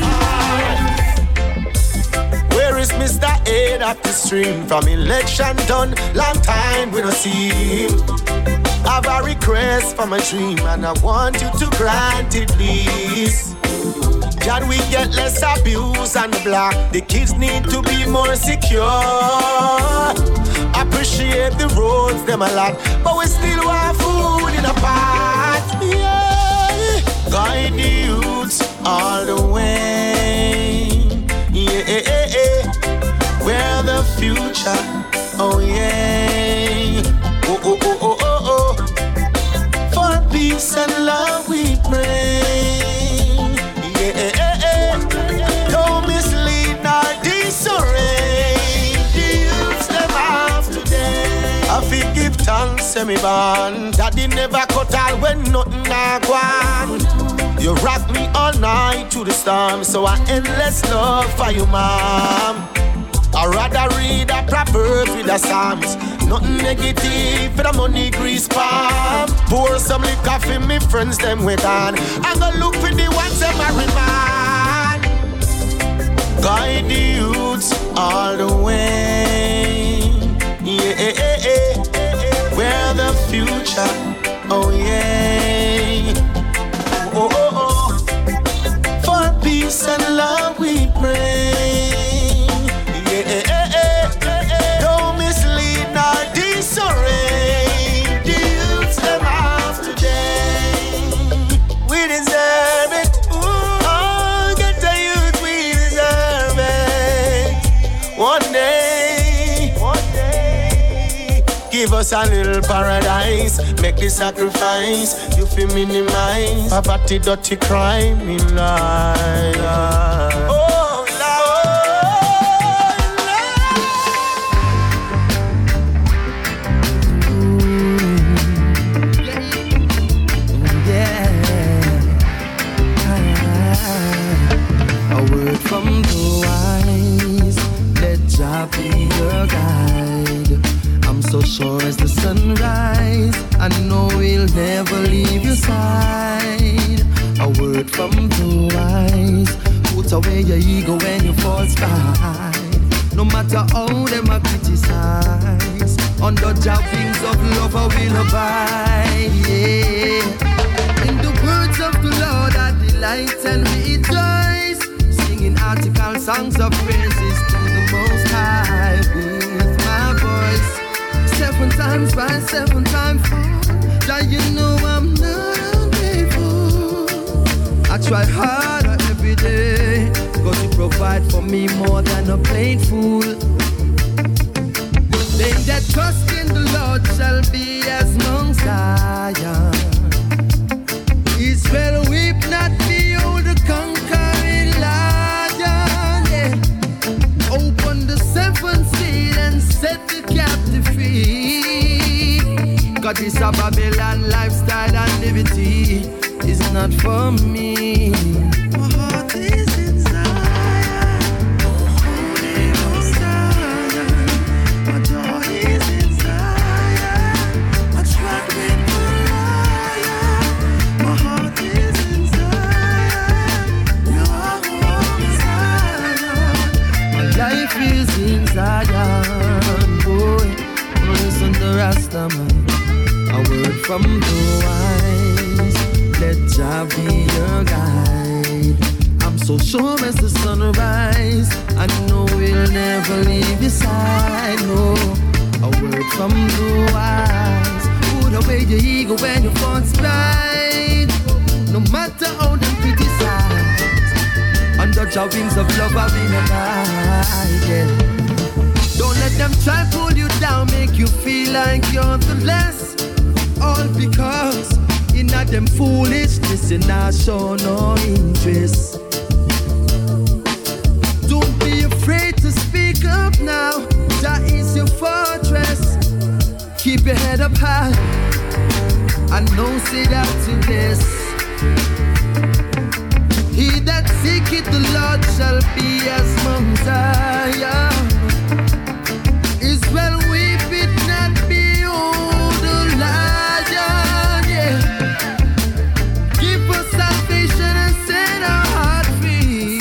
Where is Mr. Head of the stream? From election done, long time we don't see him. I've a request from a dream, and I want you to grant it, please. Can we get less abuse on the block? The kids need to be more secure. Appreciate the roads, them a lot, but we still want food in a pot. Yeah, guide the youths all the way. Yeah, we're the future. Oh yeah. Oh oh oh oh oh oh. For peace and love we pray. Don't mislead nor disarray the youths them of today. I feel give thanks, semi-ban. Daddy never cut all when nothing a gone. You rock me all night through the storm, so I endless love for you, mom. I'd rather read a proverb with the Psalms. Nothing negative for the money grease palm. Pour some liquor for me friends, them we gone. I'm gonna look for the ones them I remind. Guide the youths all the way. Yeah, we're the future. Oh yeah. Give us a little paradise, make the sacrifice. You feel minimize poverty, dirty crime in life. Oh Lord, yeah. A word from the wise, let Jah be your guide. I'm so sure as the sunrise, I know we'll never leave your side. A word from the wise, put away your ego when you fall stride. No matter how them a criticize, under Jah wings of love I will abide. Yeah. In the words of the Lord I delight and rejoice, singing article songs of praises to the Most High with my voice. 7 times by 7 times 4, that you know I'm not ungrateful. I try harder every day, cause you provide for me more than a plain fool. They that trust in the Lord shall be as Mount Zion. Israel weep not, behold the conquering lion. Yeah. Open the 7th seal and set the captive free. God, this a Babylon lifestyle and liberty is not for me. My heart is in Zion, holy Mount Zion. My joy is in Zion, my trust with the lion. My heart is in Zion, you are home Zion. My life is in Zion, boy. Listen to Rastaman. A word from the wise, let Jah be your guide. I'm so sure as the sunrise, I know we'll never leave your side. No, a word from the wise, put away your ego when you fall stride. No matter how them criticize, under Jah wings of love I will abide. Yeah. Don't let them try pull you down, make you feel like you're the less. All because in them foolishness and I show no interest. Don't be afraid to speak up now, that is your fortress. Keep your head up high, I know say that to this. He that seeketh the Lord shall be as Mount Zion. Israel weep it not, behold the lion. Yeah. Give us salvation and set our heart free.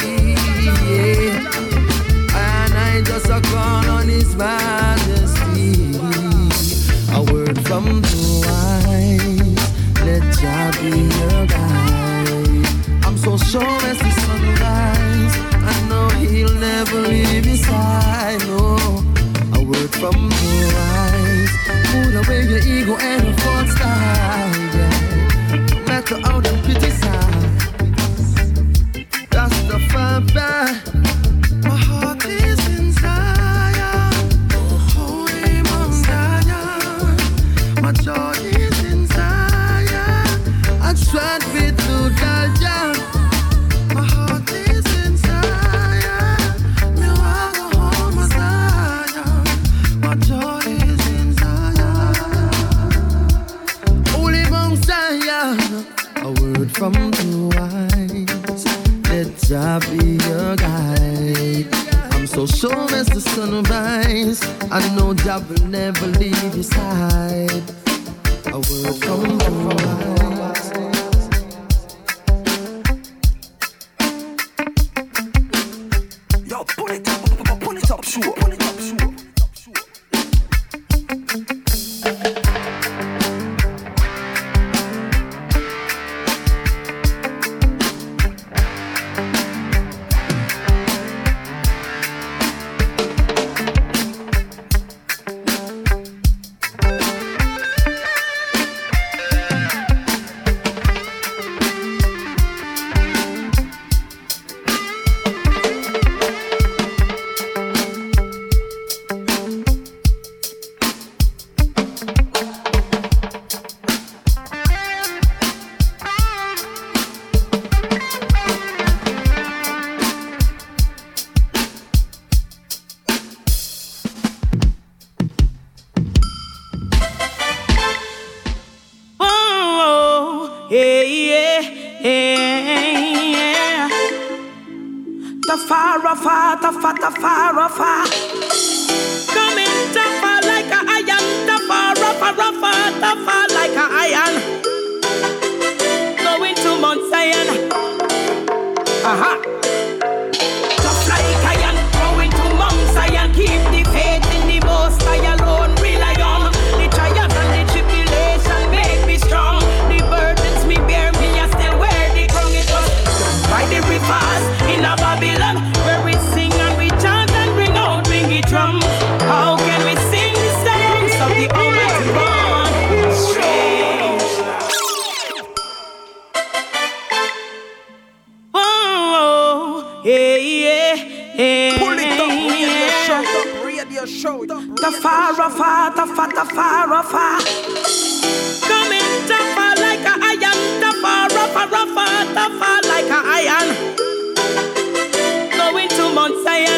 Yeah. And I just a call on His majesty. A word from the wise, let Jah be your guide. I'm so sure as the sunrise, I know He'll never leave your side. No. A word from the wise, put away your ego and your false style. Yeah. No matter how them criticize, that's the fun back. My heart is in Zion, holy Mount Zion. My joy is in Zion, I tried with the Zion. My heart is in Zion, me want to hold my Zion. My joy is in Zion, holy Mount Zion. A word from the wise, let Jah be your guide. I'm so sure as the sunrise, I know Jah will never leave your side. A word from the wise. Yo, pull it up, sure. Pull it up, sure. Tafara, coming tougher like a iron, tougher like a iron. Going to Mount Zion, tough like iron. Going to Mount Zion, keep the faith in the Most High alone. Rely on the trials and the tribulation, make me strong. The burdens me bear, me I still wear the crown. It was by the rivers in a Babylon, where we sing and we chant and bring out wingy drums. How can we sing the songs of the Almighty One? Strange. Oh, yeah. Pull it up, radio show. Tafara, coming tougher like a iron, tougher like a iron. Going to Mount Zion,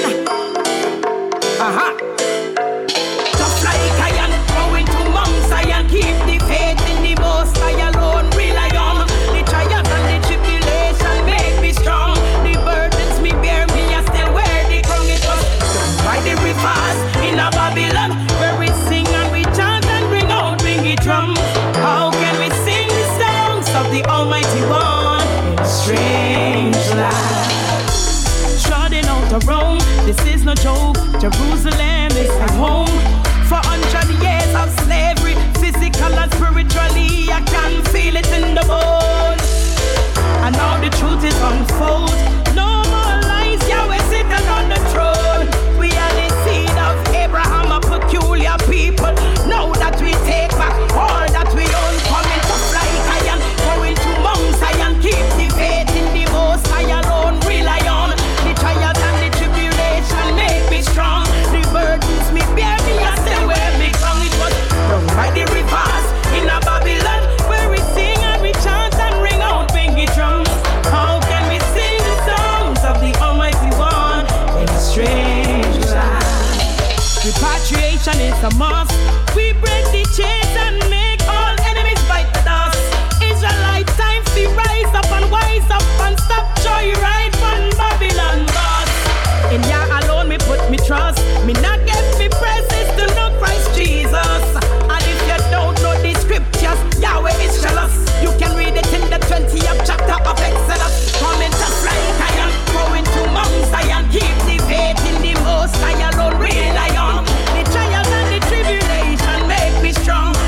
tough like iron. Going to Mount Zion, keep the faith in the Most High alone. Rely on the trials and the tribulation, make me strong. The burdens me bear, me I still wear the crown. It was by the rivers in a Babylon, where we sing and we chant and bring out wingy drums. How can we sing the songs of the Almighty One in a strange land? Trotting out of Rome, this is no joke. Jerusalem is my home. For 100 years of slavery, physical and spiritually, I can feel it in the bones. And now the truth is unfold. No more lies, Yahweh sitting on the throne. We are the seed of Abraham, a peculiar people. Now that we take back all that we own, coming to fly iron, going to Mount Zion, keep the faith in the Most High alone. Rely on the trials and the tribulation, make me strong. The burdens me bear, me I still wear me crown. It was by the rivers in a Babylon, where we sing and we chant and ring out wingy drums. How can we sing the songs of the Almighty One in a strange land? Repatriation is a must. We break the chains and make all enemies bite the dust. Israelite time to rise up and stop joyride from Babylon bus. In Yah alone me put me trust. Me not get me praises to know Christ Jesus. And if you don't know the scriptures, Yahweh is jealous. You can read it in the 20th chapter of Exodus. Coming to fly iron, going to Mount Zion, keep the faith in the Most High alone. Rely on the trials and the tribulation, make me strong.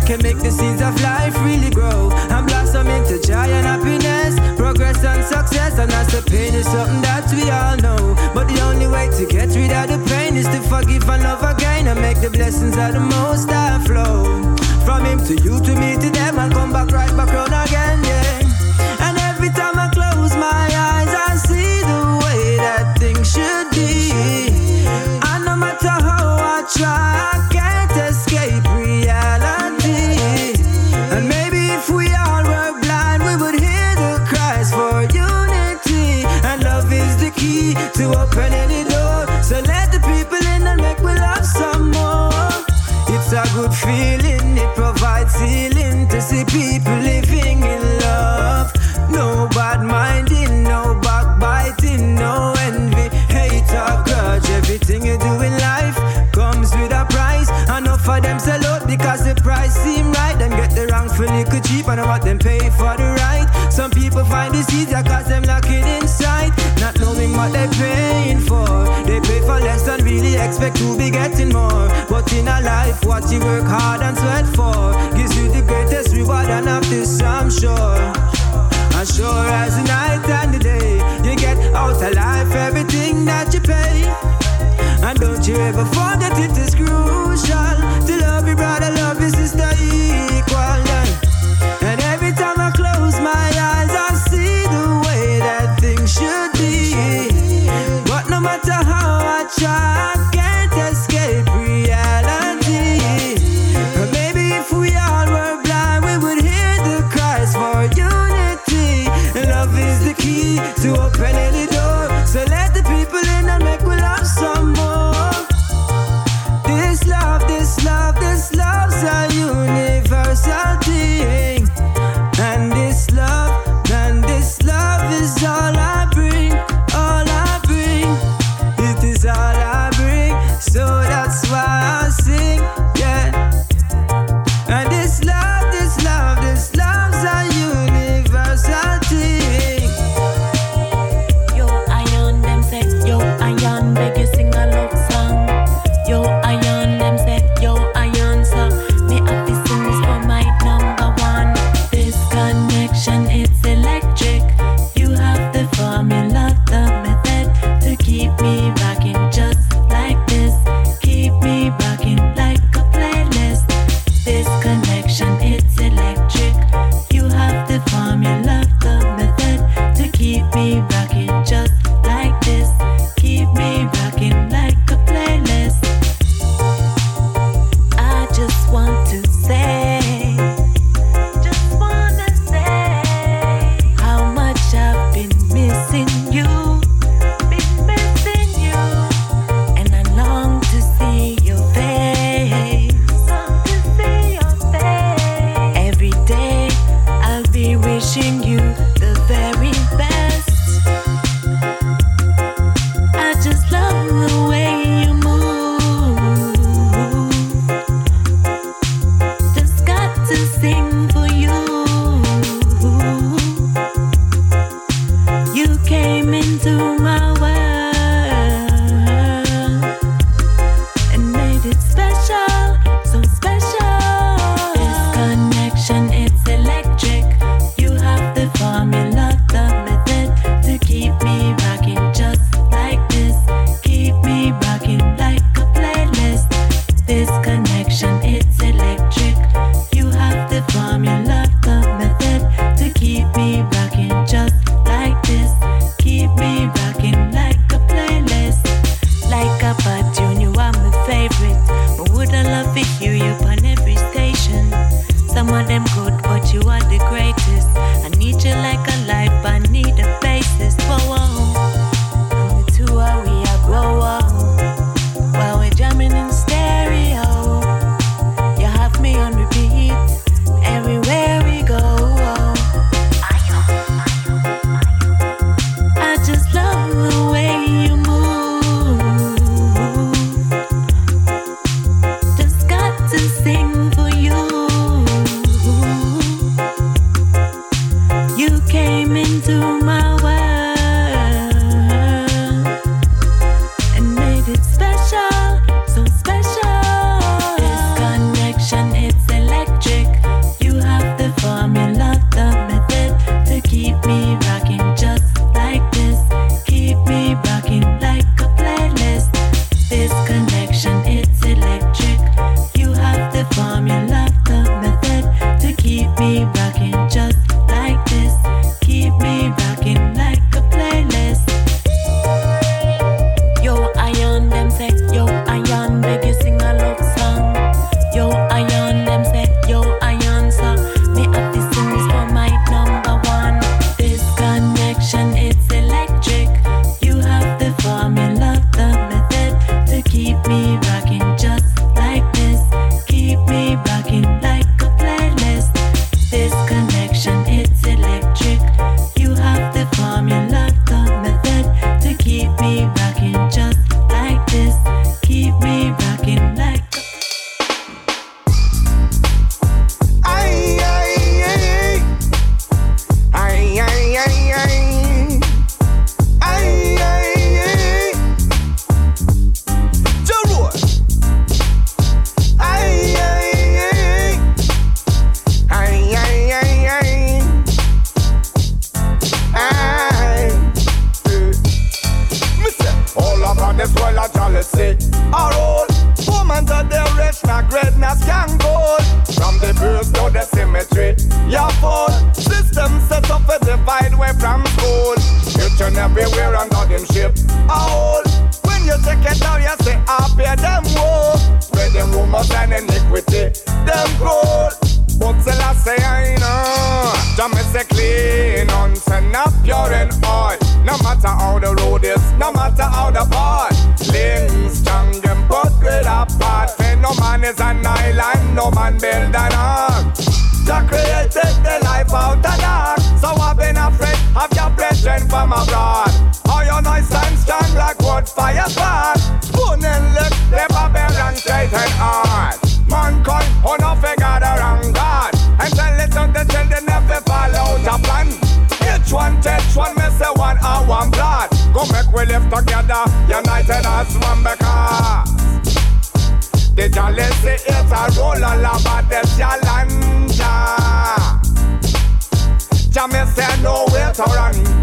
can make the seeds of life really grow and blossom into joy and happiness, progress and success. And as the pain is something that we all know, but the only way to get rid of the pain is to forgive and love again and make the blessings of the Most High flow from Him to you, to me, to them, and come back right back round again, yeah. And every time I close my eyes, I see the way that things should be. And no matter how I try, I can't escape reality. And maybe if we all were blind, we would hear the cries for unity. And love is the key to open any door. So let the people in and make we love some more. It's a good feeling, it provides healing to see people living in love. No bad minding, no backbiting, no envy, hate or grudge. Everything you do in life comes with a price. Enough for them sell out because the price seem right. Them get the wrongful little cheap and what them pay for the right. Some people find this easier cause them lacking insight, not knowing what they're paying for. They pay for less and really expect to be getting more. But in a life what you work hard and sweat for gives you the greatest reward, and of this I'm sure. As sure as the night and the day, you get out of life everything that you pay. And don't you ever forget it is crucial to love your brother, love your sister equal. And every time I close my eyes, I see the way that things should be. But no matter how I try, I can't escape reality. And maybe if we all were blind, we would hear the cries for unity. Love is the key to open any door. So let the people in and make we love some more. This love, this love, this jealousy. Our old woman to the rich, not greatness can gold. From the birth to the cemetery, your fault. System set up a divide way from school. Future everywhere under them ship. Our old. When you take it down, you say, I pay them woe. Spread them rumors and iniquity, them gold. But still I say I know. Jam is a clean, unsend up pure and oil. No matter how the road is, no matter how the part. Links strong, them both great apart. No man is an island, no man build an ark. Jah created the life out of dark. So I've been afraid of your brethren from abroad. How your noise stand strong like wood fire spark. Spoon and lick, the barbarian straight and hard. Mankind, who no figure the wrong God. And tell it to the children never fall out of plan. Each one takes one, me say one or one blood. Go make we live together, united as one because the jealousy is a roll all about the challenge. Jah me say no way to run.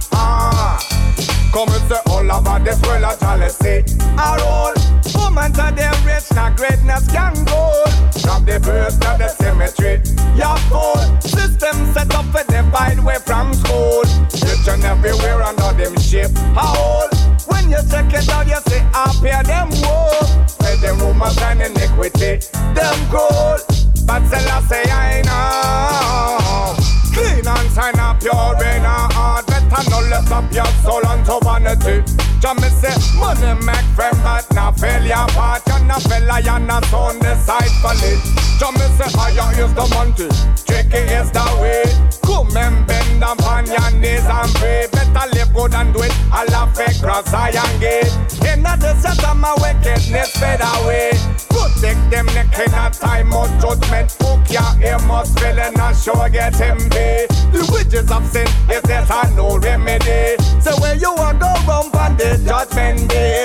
Come and say all about this world of jealousy. A roll, woman to the rich, not greatness can go. From the birth to the cemetery, your fault. System set up a divide way from school. Each and everywhere under them ship. How old? When you check it out, you say I pay them woe. Pay them rumors and iniquity, them gold. But still I say I know. Clean and sign up pure in a heart. Better not lift up your soul unto vanity. Jah me say money make friend but not failure part. You're not fella, you're not on the side for it. Jah me say higher is the mountain, tricky is the way. Come and bend upon your knees and pray. Better live good and do it. I'll fake cross iron gate. In the set of my wickedness fade away. Protect them neck in a time of judgment. Hook your ear must fill and not sure get him pay. The wages of sin is there's no remedy. So when you are go round on the judgment day,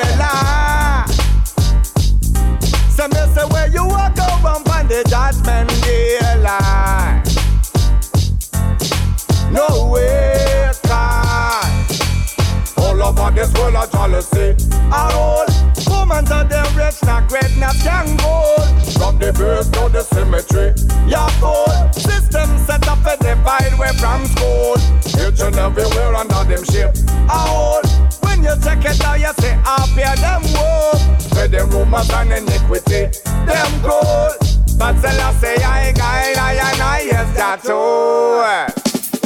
so me say where you are go round on the judgment day, no way, God. All over this world of jealousy. Our old woman to the rich, not greatness can go. From the birth to the cemetery, your fault. System set up a divide way from school. Each and everywhere under them ship. Our old. When you check it out, you say I pay them woe. Spread them rumors and iniquity, them gold. But still I say I guide, I yes that too.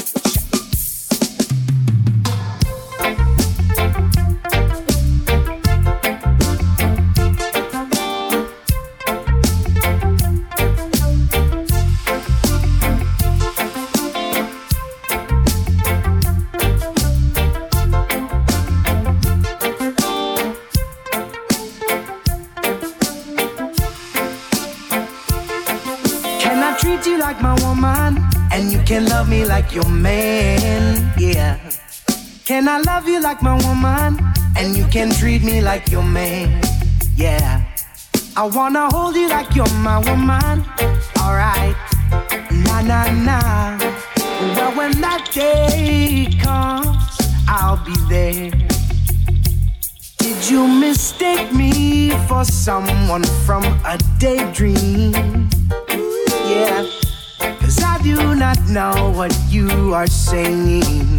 Like my woman, and you can love me like your man, yeah. Can I love you like my woman, and you can treat me like your man, yeah. I wanna hold you like you're my woman, alright, nah, nah, nah. Well, when that day comes, I'll be there. Did you mistake me for someone from a daydream? Yeah. 'Cause I do not know what you are saying.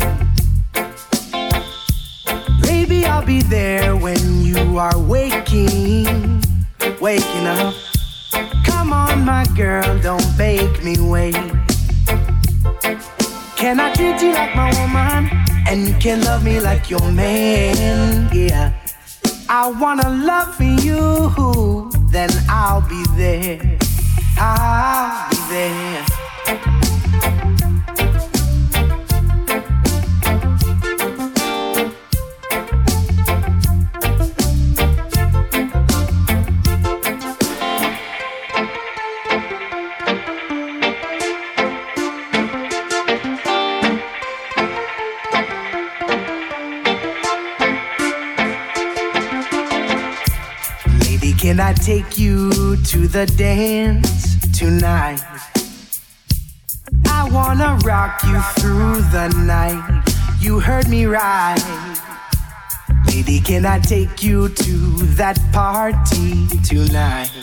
Maybe I'll be there when you are waking up. Come on, my girl, don't make me wait. Can I treat you like my woman, and you can love me like your man, yeah. I wanna love you, then I'll be there. I'll be there. Lady, can I take you to the dance tonight? I wanna rock you through the night. You heard me right. Lady, can I take you to that party tonight?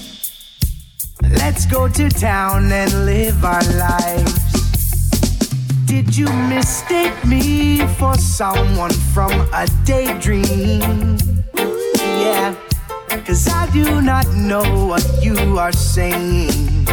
Let's go to town and live our lives. Did you mistake me for someone from a daydream? Yeah, 'cause I do not know what you are saying.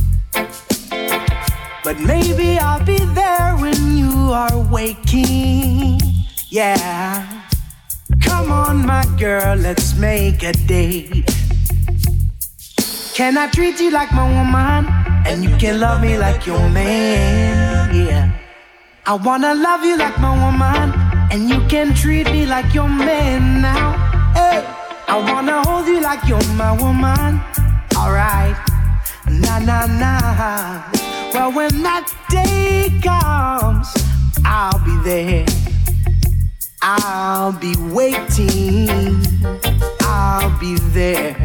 But maybe I'll be there when you are waking. Yeah. Come on, my girl, let's make a date. Can I treat you like my woman? And you can love me like your man. Yeah. I wanna love you like my woman. And you can treat me like your man now. Hey. I wanna hold you like you're my woman. Alright. Nah, nah, nah. Well, when that day comes, I'll be there. I'll be waiting. I'll be there.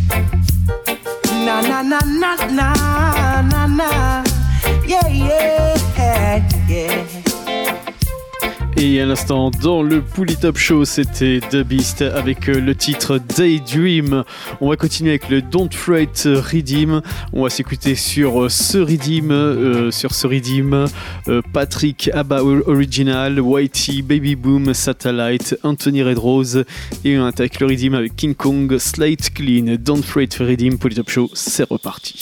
Na na na na na na na. Yeah, yeah, yeah. Et à l'instant, dans le Pouli Top Show, c'était The Beast avec le titre Daydream. On va continuer avec le Don't Fret Redeem. On va s'écouter sur ce Redeem, Patrick Abba Original, Whitey, Baby Boom, Satellite, Anthony Red Rose. Et on attaque le Redeem avec King Kong, Slate Clean, Don't Fret Redeem. Pouli Top Show, c'est reparti.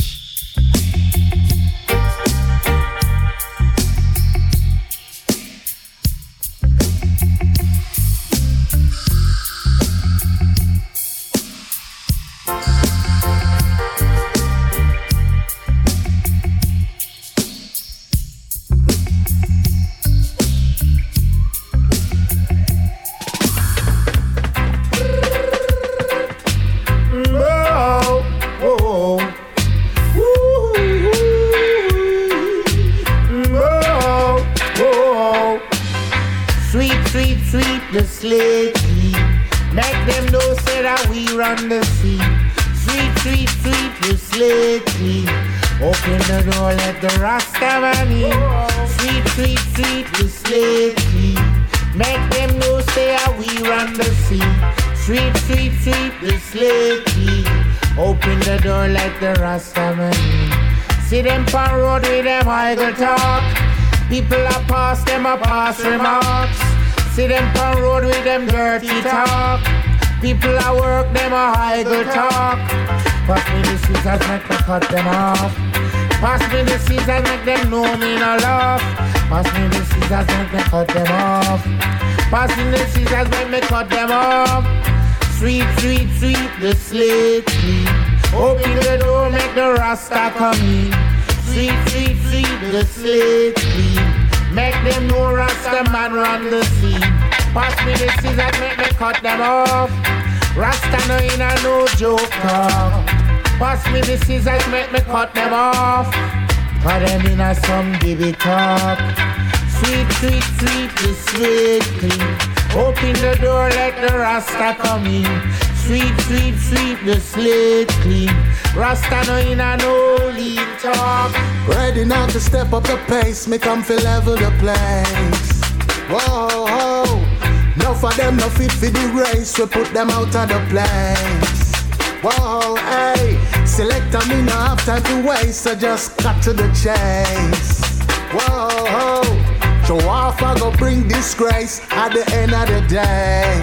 People are past them a pass remarks. See them on road with them dirty talk. People are work them a idle talk. Pass me the scissors, make me cut them off. Pass me the scissors, make them know me no love. Pass me the scissors, make me cut them off. Pass me the scissors, make me cut them off. Sweep, sweep, sweep the slate clean. Open the door, make the Rasta come in. Sweep, sweep, sweep the slate clean. Make them know Rasta man run the scene. Pass me the scissors, make me cut them off. Rasta no in a no joke talk. Pass me the scissors, make me cut them off. Put them in a some baby talk. Sweep, sweep, sweep the slate clean. Open the door, let the Rasta come in. Sweep, sweep, sweep the slate clean. Rasta no in a no lean talk. Ready now to step up the pace, me come fi level the place. Whoa, whoa. Enough of them no fit for the race, we put them out of the place. Whoa, hey. Selector me no have time to waste, so just cut to the chase. Whoa, whoa. Show off I go bring disgrace at the end of the day.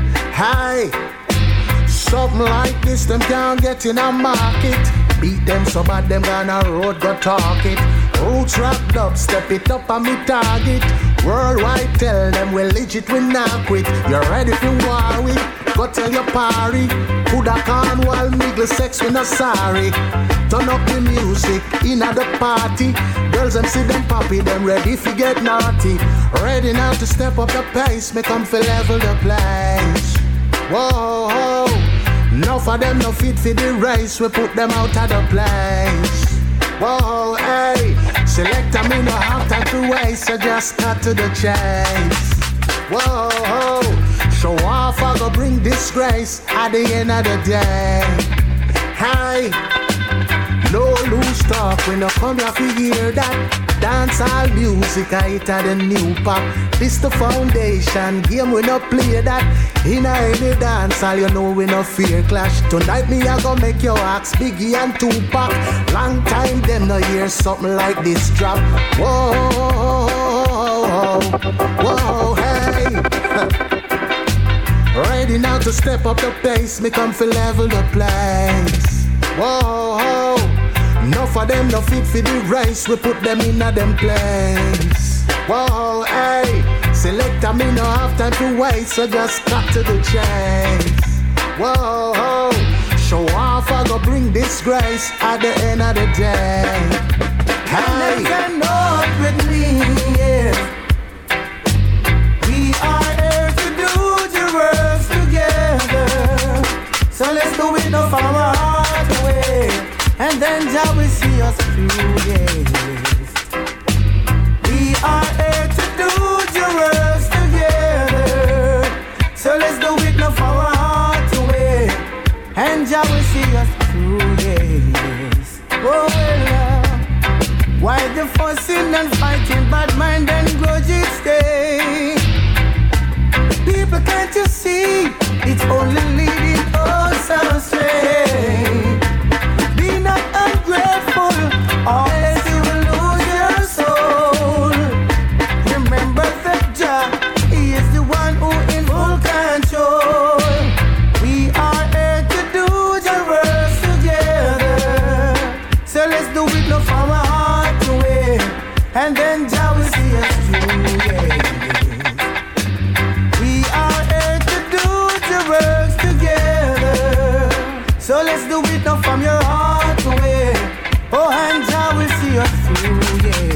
Hey. Something like this, them can't get in a market. Beat them so bad, them gonna road go talk it. Roots rap dub, step it up on me target. Worldwide tell them we legit, we not quit. You ready for war with? Go tell your party. Coulda can while mingle sex, we not sorry. Turn up the music, in at the party. Girls them see them poppy, them ready for get naughty. Ready now to step up the pace, make them feel level the place. Whoa, whoa. Enough of them no fit for the race, we put them out of the place. Whoa, hey. Selector me no have time to waste, so just cut to the chase. Whoa, whoa. Show off I go bring disgrace at the end of the day. Hey. No loose talk, we no come here to hear that. Dancehall music, I hit the new pop. This the foundation. Game we no play that. In any dance, all you know we no fear clash. Tonight me I go make your axe Biggie and Tupac. Long time them no hear something like this drop. Whoa, whoa, hey. Ready now to step up the pace. Me come for level the place. Whoa, enough of them no fit for the race. We put them in a them place. Whoa, hey. Selector me no have time to wait, so just cut to the chase. Whoa, show off I go bring disgrace at the end of the day. Hey, and they not with me, yeah. We are here to do the work together. So let's do it of our heart away, and then Jah will see us through, yes. We are here to do the work together. So let's do it of our heart away, and Jah will see us through, yes. Oh, why the fussing and fighting, bad mind and grudges stay? People, can't you see? It's only leading us astray. Be not ungrateful, or else you will lose your soul. Remember that Jah, He is the one who in full control. We are here to do the work together. So let's do it no from our heart away, and then Jah will see us through, yeah. Works together, so let's do it now from your heart away. Oh, and Jah will see us through, yes.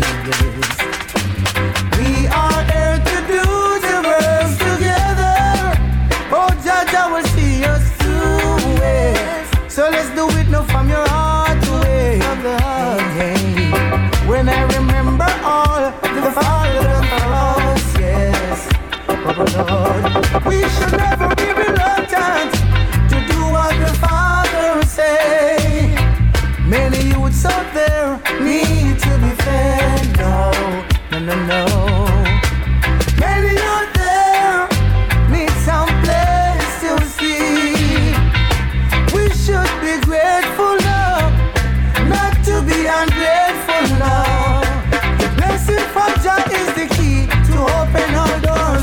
We are here to do the works together. Oh, Jah will see us through, yes. So let's do it now from your heart away. Hey, when I remember all the fathers of us, yes. Oh Lord, we should never be reluctant to do what the Father say. Many youths out there need to be fed. No. Many out there need some place to see. We should be grateful now, not to be ungrateful now. The blessing from Jah is the key to open our doors.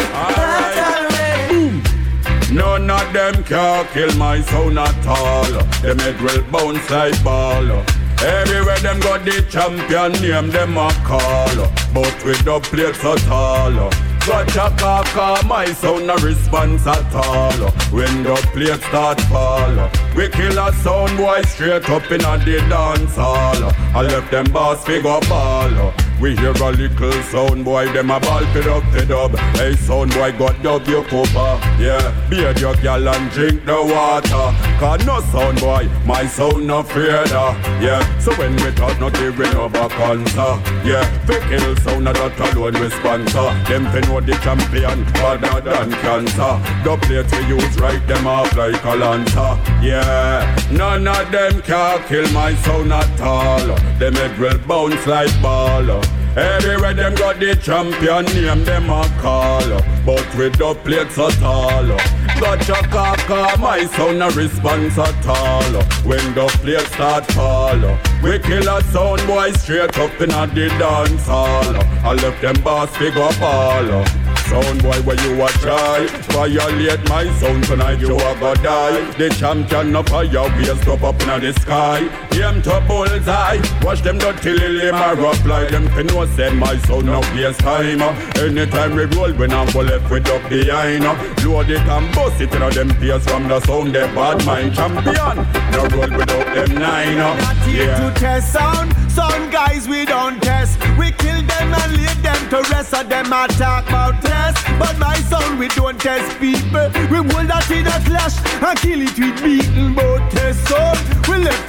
None of them can kill my sound at all. Them head will bounce like ball. Everywhere them got the champion name them a call. But with the plate so tall. Gotcha kaka, my sound no response at all. When the plate start fall, we kill a sound boy straight up in a the dance hall. I left them boss figure ball. We hear a little sound boy, them a ball pit up the dub. Hey sound boy got dub your copper. Yeah, beard your gal and drink the water. Cause no sound boy, my sound no fear da. Yeah, so when we talk not even over cancer. Yeah, we kill sound not alone we sponsor. Them fin know the champion, harder than cancer. The plate we use right them off like a lancer. Yeah, none of them can kill my sound at all. Them head will bounce like ball. Everywhere them got the champion name them a call. But with the plate so tall. Gotcha kaka, my sound no response at all. When the plate start fall, we kill a sound boy straight up in a the dance hall. I left them boss figure ball. Sound boy where you a try violate my sound tonight you a go die. The champion of fire we a stop up in the sky. Aim to bullseye, watch them dirty lily my rough like them fin know say my sound no waste time. Anytime we roll when I'm left with up behind. Load it and bust it in them peers from the sound they bad mind champion. No roll without them nine. Not here to test sound. Some guys we don't test. We kill them and leave them to rest. So them attack about test. But my sound we don't test people. We hold that in a clash and kill it with beaten. But test sound we left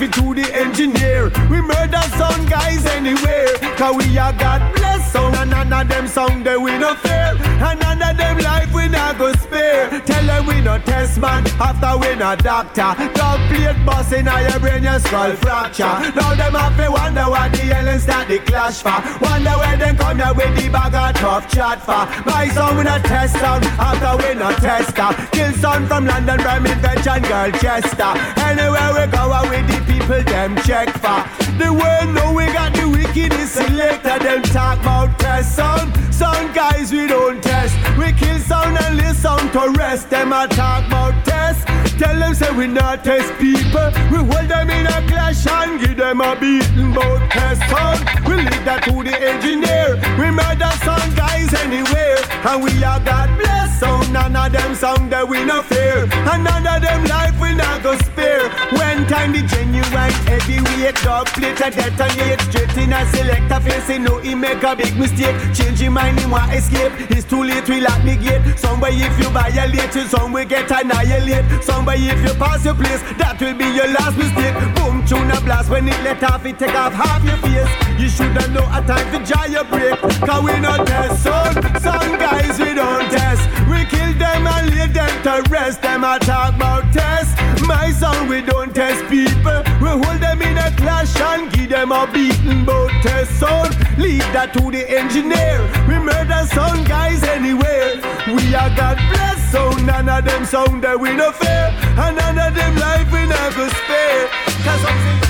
it to the engineer. We murder some guys anywhere, cause we are God bless sound. And none of them sound that we no fear, and none of them life we not go spare. Tell them we no test man, after we no doctor. Dog plate bust in your brain, your skull fracture. Now them have to wonder what the hell is that the clash for. Wonder where they come here with the bag of tough chat for. My son we no test sound, after we no tester. Kill son from London, Birmingham, and girl Chester. Anywhere we go with the people them check for. The world know we got the wickedest selector. Them talk about test sound. Some guys we don't test. We kill sound and listen to rest. Them a talk about test. Tell them say we not test people. We hold them in a clash and give them a beating about test sound. We leave that to the engineer. We murder some guys anywhere, and we are God bless sound. None of them sound that we no fear, and none of them life we not go spare. When time the genuine heavyweight dog plate a detonate straight in a selector face. He know he make a big mistake. Change his mind, he want escape. It's too late, we lock the gate. Somebody if you violate it, some will get annihilate. Somebody if you pass your place, that will be your last mistake. Boom, tune a blast when it let off, it take off half your face. You shoulda know a time to jar your break, cause we not test sound. Some guys we don't test. We kill them and lay them to rest. Them a talk about test. My son we don't test people. We hold them in a clash and give them a beating bout test sound. Leave that to the engineer. We murder some guys anywhere. We are God bless sound. None of them sound that we no fear, and none of them life we never spare. Cause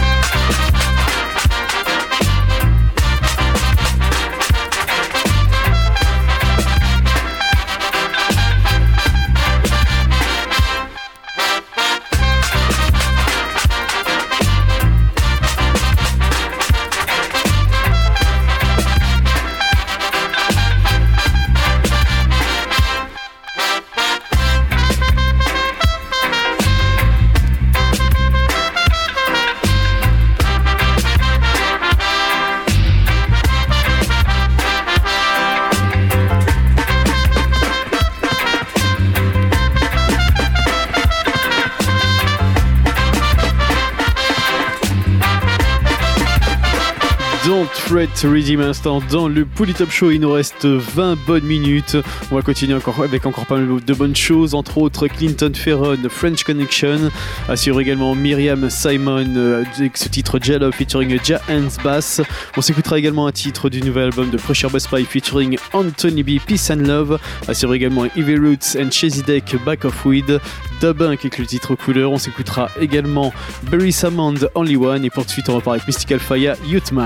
Fred Redeem instant dans le Pouli Top Show. Il nous reste 20 bonnes minutes. On va continuer avec encore pas mal de bonnes choses, entre autres Clinton Ferron, French Connection. Assure également Myriam Simon avec ce titre Jello featuring Ja Hans Bass. On s'écoutera également un titre du nouvel album de Pressure Bass Pie featuring Anthony B, Peace and Love. Assure également Evil Roots and Chezidek, Back of Weed. Dubunk avec le titre Couleur. On s'écoutera également Barry Salmond, Only One. Et pour de suite on repart avec Mystical Fire, Youthman.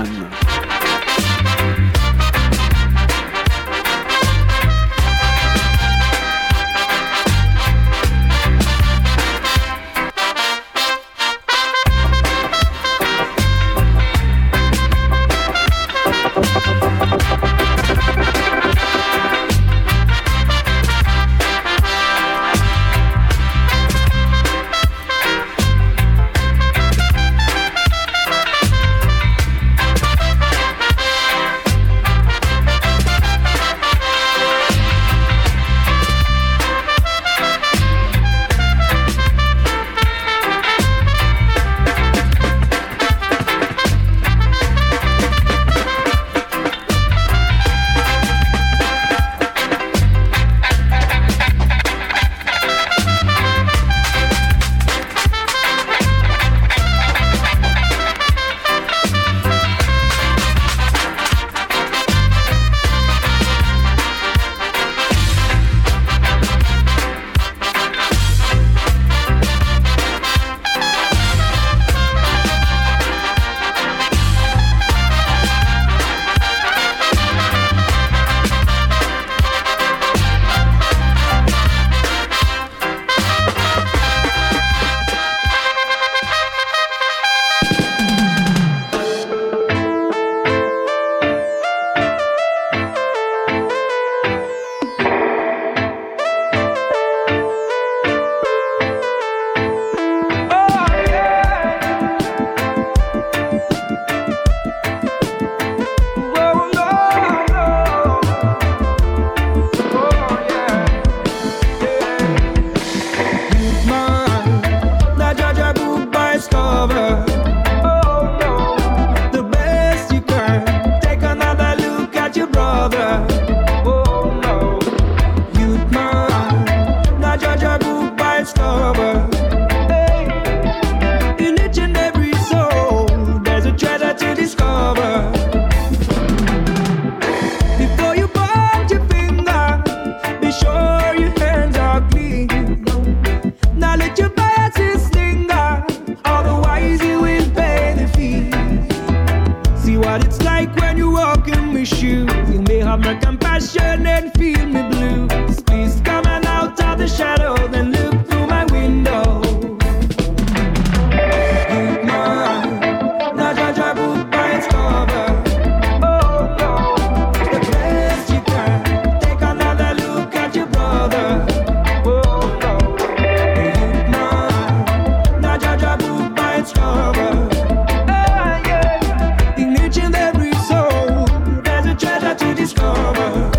of my compassion and feel me blues. Please come on out of the shadow, then look through my window. Youth man, not judge a book by its cover. Oh no, the best you can. Take another look at your brother. Oh no, youth man, not judge a book by its cover. In each and every soul, there's a treasure to discover.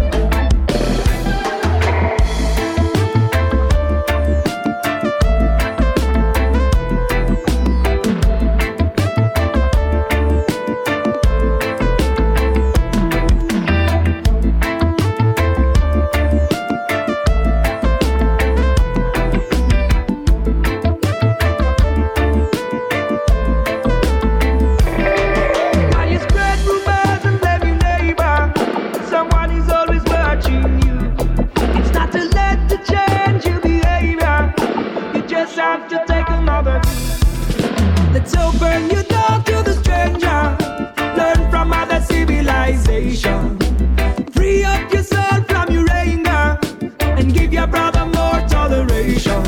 While you spread rumors and blame your neighbor, someone is always watching you. It's not too late to change your behavior. You just have to take another view. Let's open your door to the stranger. Learn from other civilization. Free up your soul from your anger and give your brother more toleration.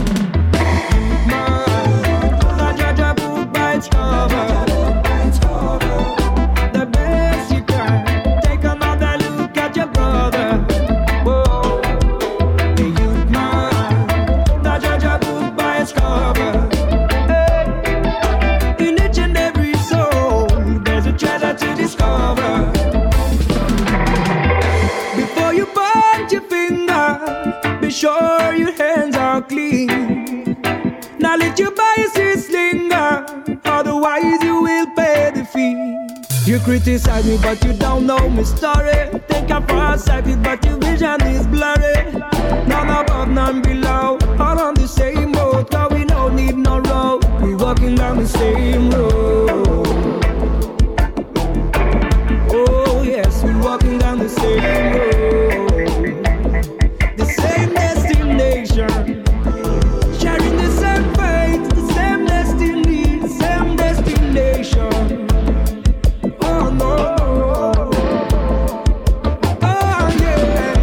Man, not judge a book by its cover. The best you can. Take another look at your brother. Whoa, the youth man, not judge a book by its cover. Hey. In each and every soul, there's a treasure to discover. Before you point your finger, be sure your hands are clean. Now let your biases linger, otherwise you will pay the fee. You criticize me but you don't know my story. Think I'm far-sighted but your vision is blurry. None above, none below, all on the same boat. Cause we don't need no road, we walking down the same road. Oh yes, we walking down the same road. The same destination, sharing the same fate, the same destiny, the same destination. Oh no, oh yeah.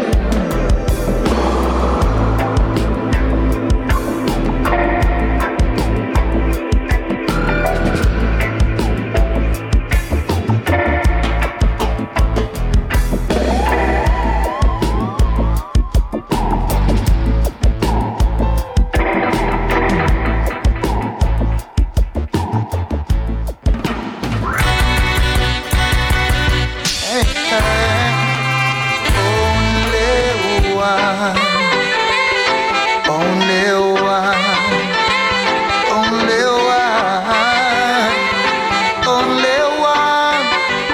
Only one.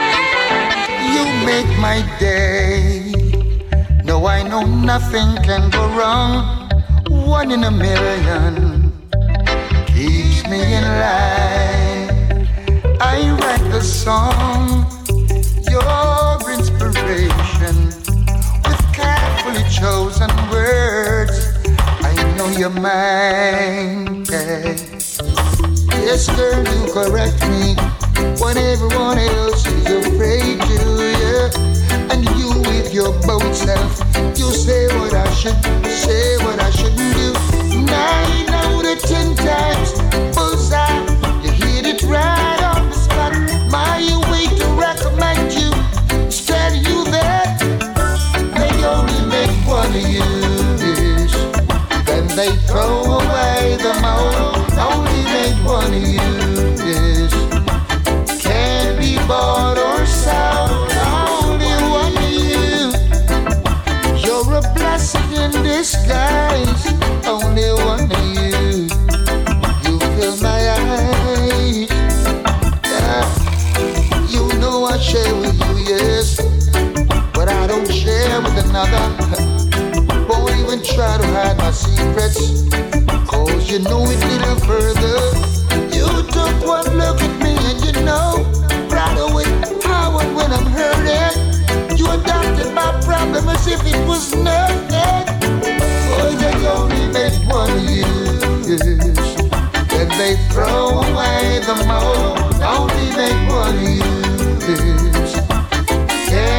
You make my day. No, I know nothing can go wrong. One in a million keeps me in line. I write the song, your inspiration, with carefully chosen words. I know you're mine. Yeah. Yes, girl, you correct me when everyone else is afraid to, yeah. And you with your bold self, you say what I should, say what I shouldn't do. 9 out of 10 times, bullseye, you hit it right on the spot. My way to recommend you, tell you that they only make one of you. Yes. Then they throw away the mold. Only made one of you, yes. Can't be bought or sold. Only one of you. You're a blessing in disguise. Only one of you. You fill my eyes. Yeah. You know I share with you, yes, but I don't share with another. Won't even try to hide my secrets, cause you know it little further. You took one look at me and you know right away how and when I'm hurting. You adopted my problem as if it was nothing. Oh, they only made one of you, yes. Then they throw away the mold. Only make one of you, yes. Can't be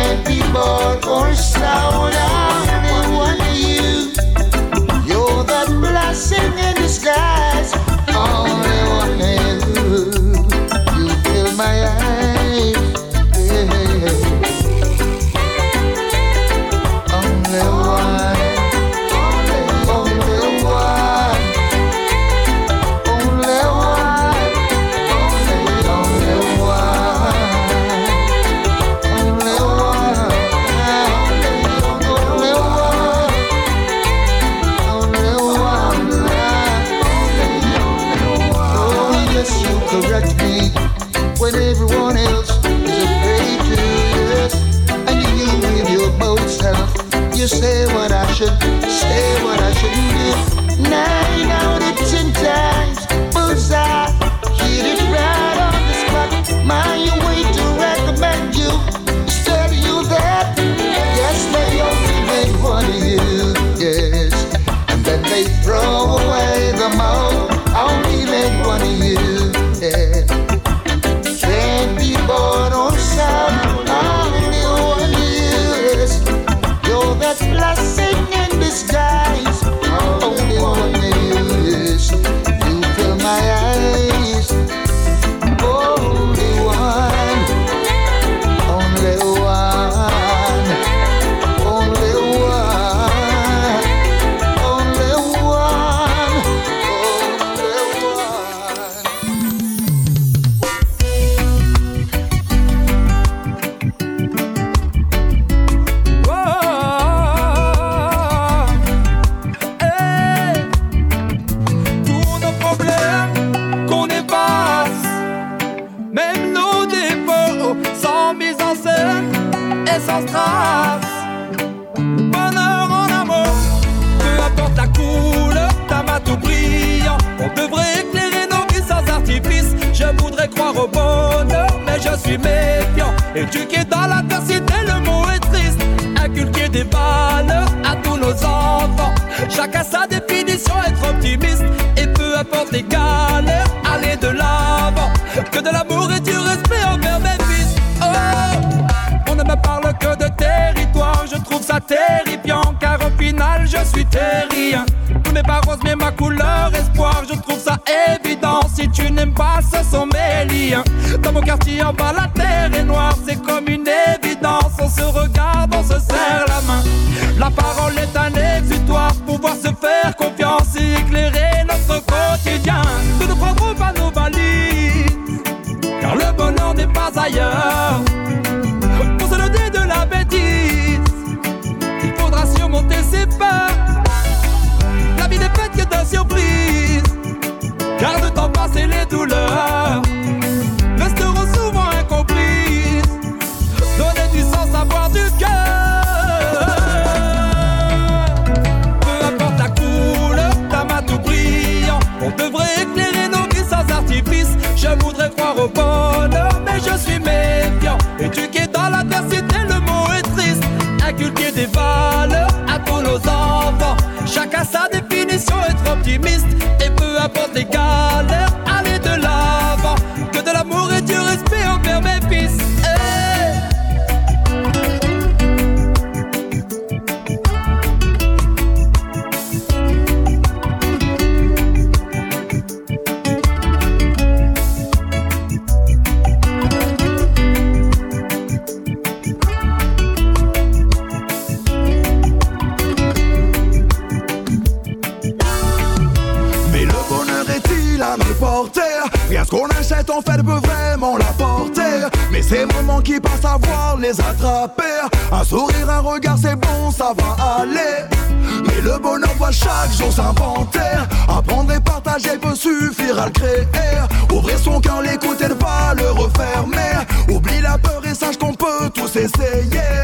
keyboard or sound, only one of you. You're that blessing in disguise, only one of you. You fill my eyes, yeah. Only one. Correct me when everyone else is afraid to, yes. And you with your bold self, you say what I should, say what I shouldn't do. 9 out of 10 times, bullseye, hit it right on the spot. My way to recommend you, tell you that, yes, they only make one of you, yes. And then they throw away the mold, only make one of you. Yeah. Can't be born on sound, only one is. You're that blessing in disguise, only one is. You fill my eyes, only one, only one, only one, only one, only one. Sans trace, bonheur en amour, peu importe la couleur, ta main tout brillant. On devrait éclairer nos vies sans artifice. Je voudrais croire au bonheur, mais je suis méfiant. Éduquer dans l'adversité, le mot est triste. Inculquer des valeurs à tous nos enfants. Chacun sa définition, être optimiste. Et peu importe les galères, aller de l'avant. Que de l'amour et du respect envers mes fils. Oh! On ne me parle que de territoire, je trouve ça terrifiant, car au final je suis terrien. Tous mes pas roses mais ma couleur espoir, je trouve ça évident. Si tu n'aimes pas, ce sont mes liens. Dans mon quartier en bas la terre est noire, c'est comme une évidence. On se regarde, on se serre la main. La parole est un exutoire, pouvoir se faire confiance et éclairer notre quotidien. Nous ne prendrons pas nos valises, car le bonheur n'est pas ailleurs. De la bêtise, il faudra surmonter ses peurs. La vie n'est faite que de surprises, car le temps passé les douleurs resteront souvent incomprises. Donner du sens, avoir du cœur. Peu importe la couleur, ta main tout brillant. On devrait éclairer nos vies sans artifice. Je voudrais croire au bonheur, mais je suis méfiant. Éduqué dans l'adversité, le mot est triste. Inculquer des valeurs à tous nos enfants. Chacun sa définition, être optimiste. Et peu importe les galères, aller de l'avant. Que de l'amour et du respect envers mes fils. Hey. Rien ce qu'on achète en fait peut vraiment l'apporter. Mais ces moments qui passent à voir les attraper. Un sourire, un regard c'est bon, ça va aller. Mais le bonheur doit chaque jour s'inventer. Apprendre et partager peut suffire à le créer. Ouvrir son cœur, l'écouter, ne pas le refermer. Oublie la peur et sache qu'on peut tous essayer.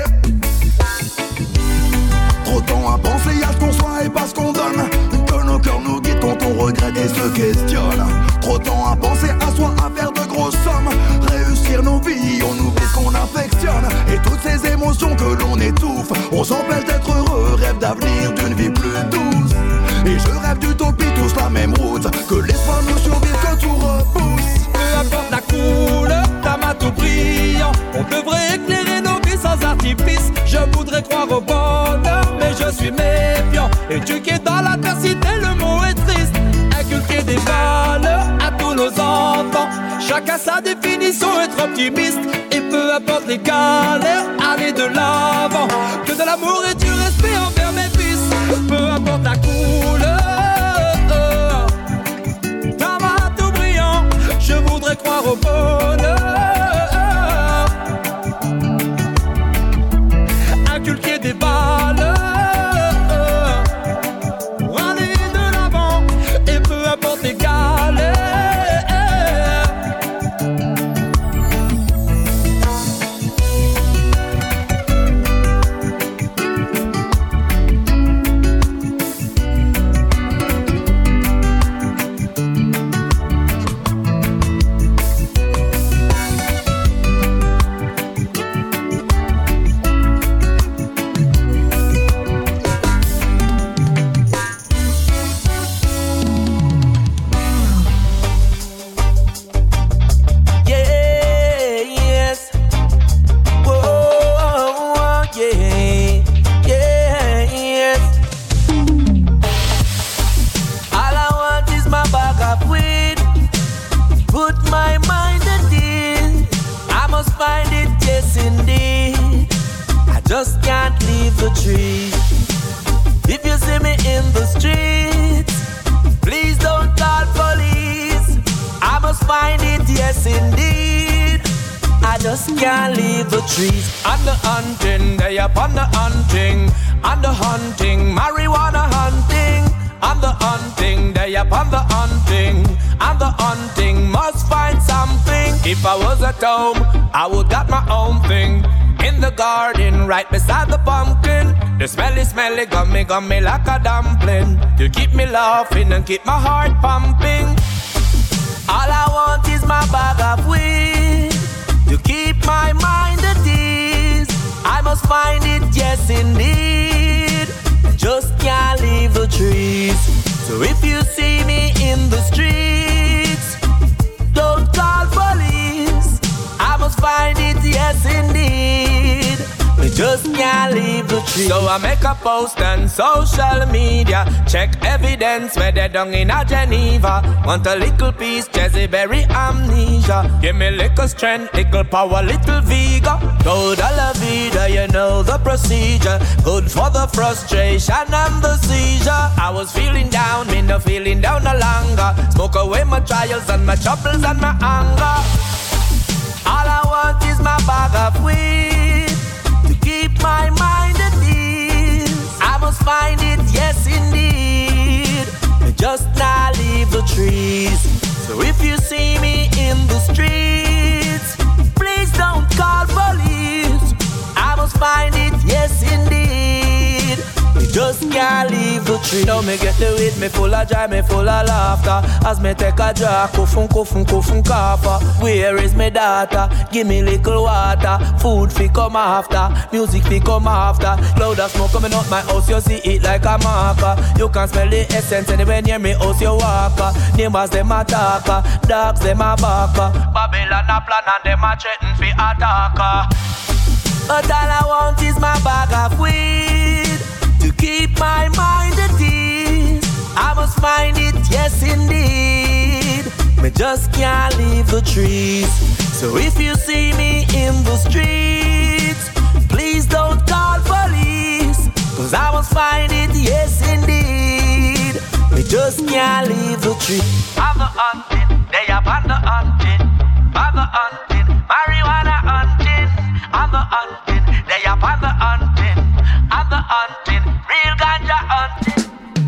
Trop de temps à penser à ce qu'on soit et pas ce qu'on donne. Que nos cœurs nous guident quand on regrette et se questionne. Trop de temps à penser à soi, à faire de grosses sommes. Réussir nos vies, on oublie ce qu'on affectionne. Et toutes ces émotions que l'on étouffe. On s'empêche d'être heureux, rêve d'avenir, d'une vie plus douce. Et je rêve d'utopie, tous la même route. Que l'espoir nous survive, que tout repousse. Peu importe la couleur, ta main tout brillant. On devrait éclairer nos vies sans artifice. l'avant. Éduquer dans l'adversité, le mot est triste. Inculquer des valeurs à tous nos enfants. Chacun sa définition, être optimiste. Et peu importe les galères, aller de l'avant. Que de l'amour et du respect envers mes fils. Peu importe la couleur. D'un bateau brillant, je voudrais croire au bonheur. Inculquer des valeurs. Pour aller de l'avant. Et peu importe les galères. Just can't leave the tree. If you see me in the streets, please don't call police. I must find it, yes indeed. I just can't leave the trees. On the hunting, they upon the hunting. On the hunting, marijuana hunting. On the hunting, they upon the hunting. On the hunting, must find something. If I was at home, I would got my own thing. In the garden, right beside the pumpkin. The smelly, gummy like a dumpling. To keep me laughing and keep my heart pumping. All I want is my bag of weed. To keep my mind at ease. I must find it, yes indeed. Just can't leave the trees. So if you see me in the streets, don't call police. I must find it, yes indeed. We just can't leave the tree. So I make a post on social media. Check evidence where they done in a Geneva. Want a little piece, Jesse Berry amnesia. Give me little strength, little power, little vigor. Go to la vida, you know the procedure. Good for the frustration and the seizure. I was feeling down, me no feeling down no longer. Smoke away my trials and my troubles and my anger. All I want is my bag of weed. To keep my mind at ease. I must find it, yes indeed. And just not leave the trees. So if you see me in the streets, please don't call police. I must find it, yes indeed. We just can't leave the tree. Now me get the weed, me full of joy, me full of laughter. As me take a drag, kufun kafa. Where is my daughter? Give me little water. Food fi come after, music fi come after. Cloud of smoke coming out my house, you see it like a marker. You can smell the essence anywhere near me house you walk. Neighbors them a talker, dogs them a barker. Babylon a plan and them a threaten fi attacker. But all I want is my bag of weed. To keep my mind at ease. I must find it, yes indeed. Me just can't leave the trees. So if you see me in the streets, please don't call police. Cause I must find it, yes indeed. Me just can't leave the tree. I'm the hunting, they up on the hunting. I'm the hunting, marijuana hunting. I'm the hunting, they up on the hunting. I'm the hunting, real ganja hunting.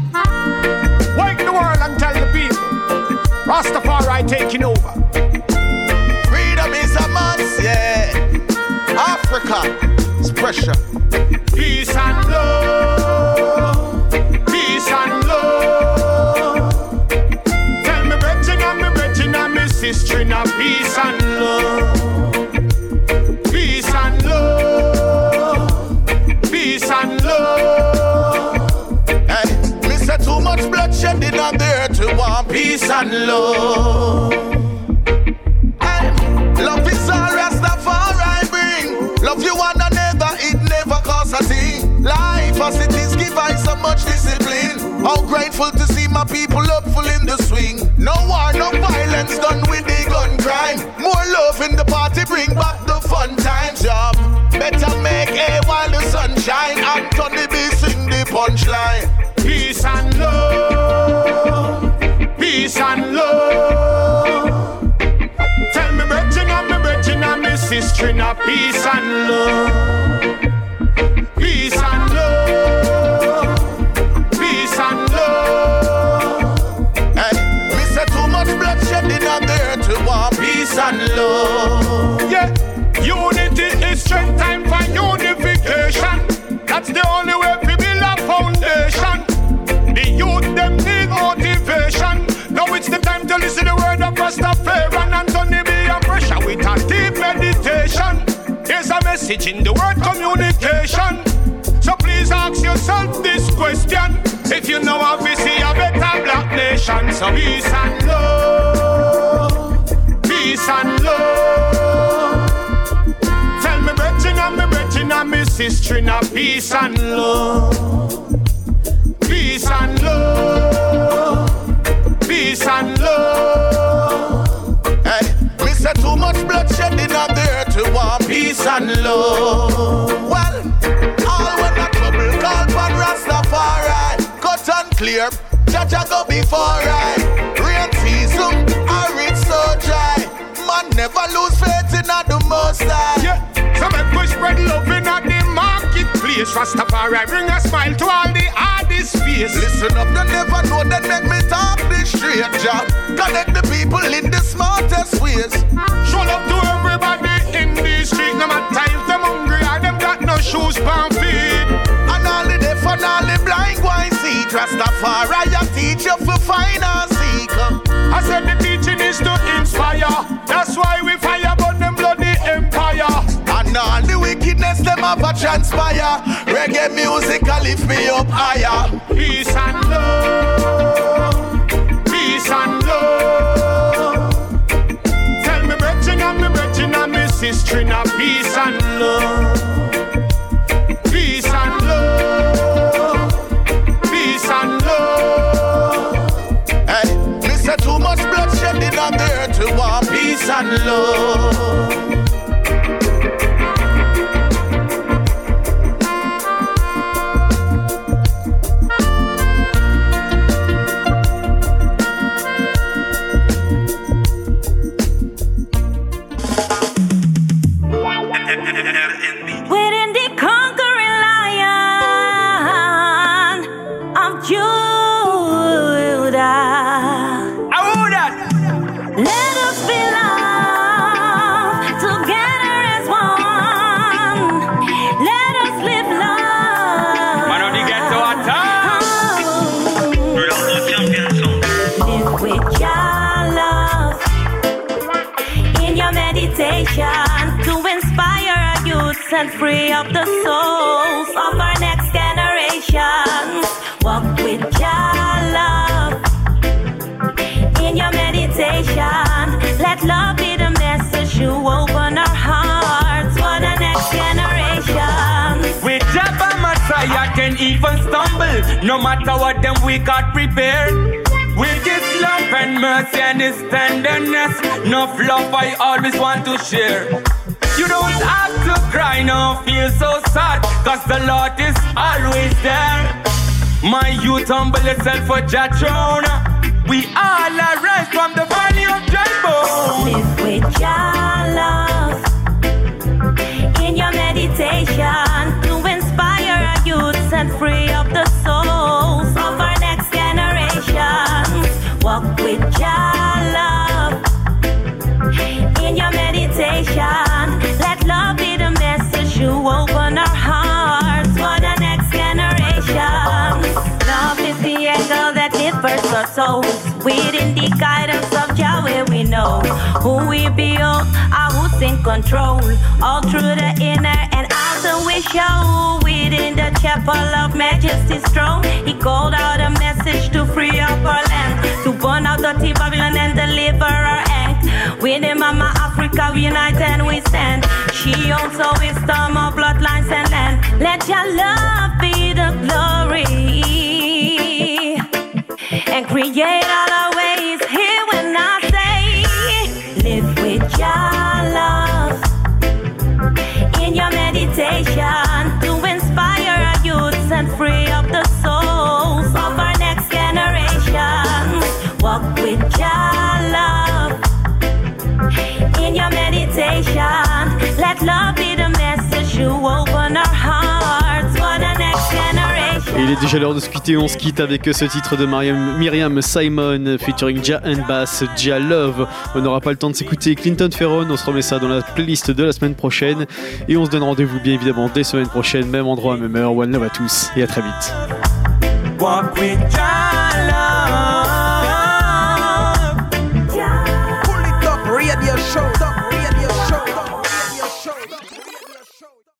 Wake the world and tell the people, Rastafari taking over. Freedom is a must, yeah. Africa is pressure. Peace and love, peace and love. Tell me brethren and me sister, now peace and love. Peace and love, peace and love. Hey, me say too much bloodshed in the earth to want peace and love. Hey, love is all Rastafari bring. Love you one another, it never costs a thing. Life as it is, give I so much this to bring back the fun times, yeah. Better make hay while the sun shine. And Tony B sing the punchline. Peace and love, peace and love. Tell me brethren and me sister, now peace and love. Peace and love, peace and love. Hey, me say too much bloodshed in the earth to want peace and love. Yeah, unity is strength, time for unification. That's the only way to build a foundation. The youth them need motivation. Now it's the time to listen to the word of Rastafari and Anthony B and pressure with a deep meditation. There's a message in the word communication. So please ask yourself this question. If you know how to see a better black nation. So peace and love, peace and love. Tell me brethren and me sister, now peace and love. Peace and love, peace and love. Hey, me say too much bloodshed in the earth to want peace and love. Well, all when the trouble call for Rastafari, cut and clear, Jaja go before I. Rain season, or it's so dry. Man never lose faith in the Most High. Yeah, so make we spread love in the marketplace. Rastafari bring a smile to all the hardest face. Listen up, you never know that make me talk this straight job. Connect the people in the smartest ways. Show love to everybody in the street. No matter if them hungry or them got no shoes on feet. And all the deaf and all the blind go and see. Rastafari I teach you for find and seek. I said the teaching is to inspire. That's why we fire burn them bloody empire. And all the wickedness them have a transpire. Reggae music will lift me up higher. Peace and love, peace and love. Tell me brethren and me sister, now peace and love. Peace and love, peace and love. Hey, me say too much bloodshed in the earth to want peace and love. Within the conquering lion of Judah, let us belong together as one. Let us live love. Man on the ghetto Live with your love in your meditation to inspire our youths and free up the souls of our next generations. Walk with your love in your meditation. Let love be the message you open our hearts for the next generation. With Jabba Messiah can even stumble. No matter what them we got prepared. With His love and mercy and His tenderness, enough love I always want to share. You don't have to cry, no feel so sad, cause the Lord is always there. My youth humble yourself for Jah throne. We all arise from the valley of dry bones. Live with your love in your meditation to inspire our youths and free up the souls of our next generations. Walk with your love in your meditation. Let love be the message you open our hearts for the next generation. Love is the angle that lifts our souls. Within the guidance of Yahweh we know who we build, who's in control. All through the inner and outer we show. Within the chapel of Majesty's throne, He called out a message to free up our land, to burn out dirty Babylon and deliver our end. Within Mama Africa we unite and we stand. She owns all wisdom of bloodlines and land. Let your love be the glory and create all our ways. Here when I say, live with your love invitation. Let love be the message you open our hearts for the next generation. Et il est déjà l'heure de se quitter. On se quitte avec ce titre de Myriam Simon featuring Ja and Bass, Ja Love. On n'aura pas le temps de s'écouter Clinton Ferron. On se remet ça dans la playlist de la semaine prochaine. Et on se donne rendez-vous bien évidemment dès semaine prochaine, même endroit, même heure. One love à tous et à très vite. Walk with Ja Love.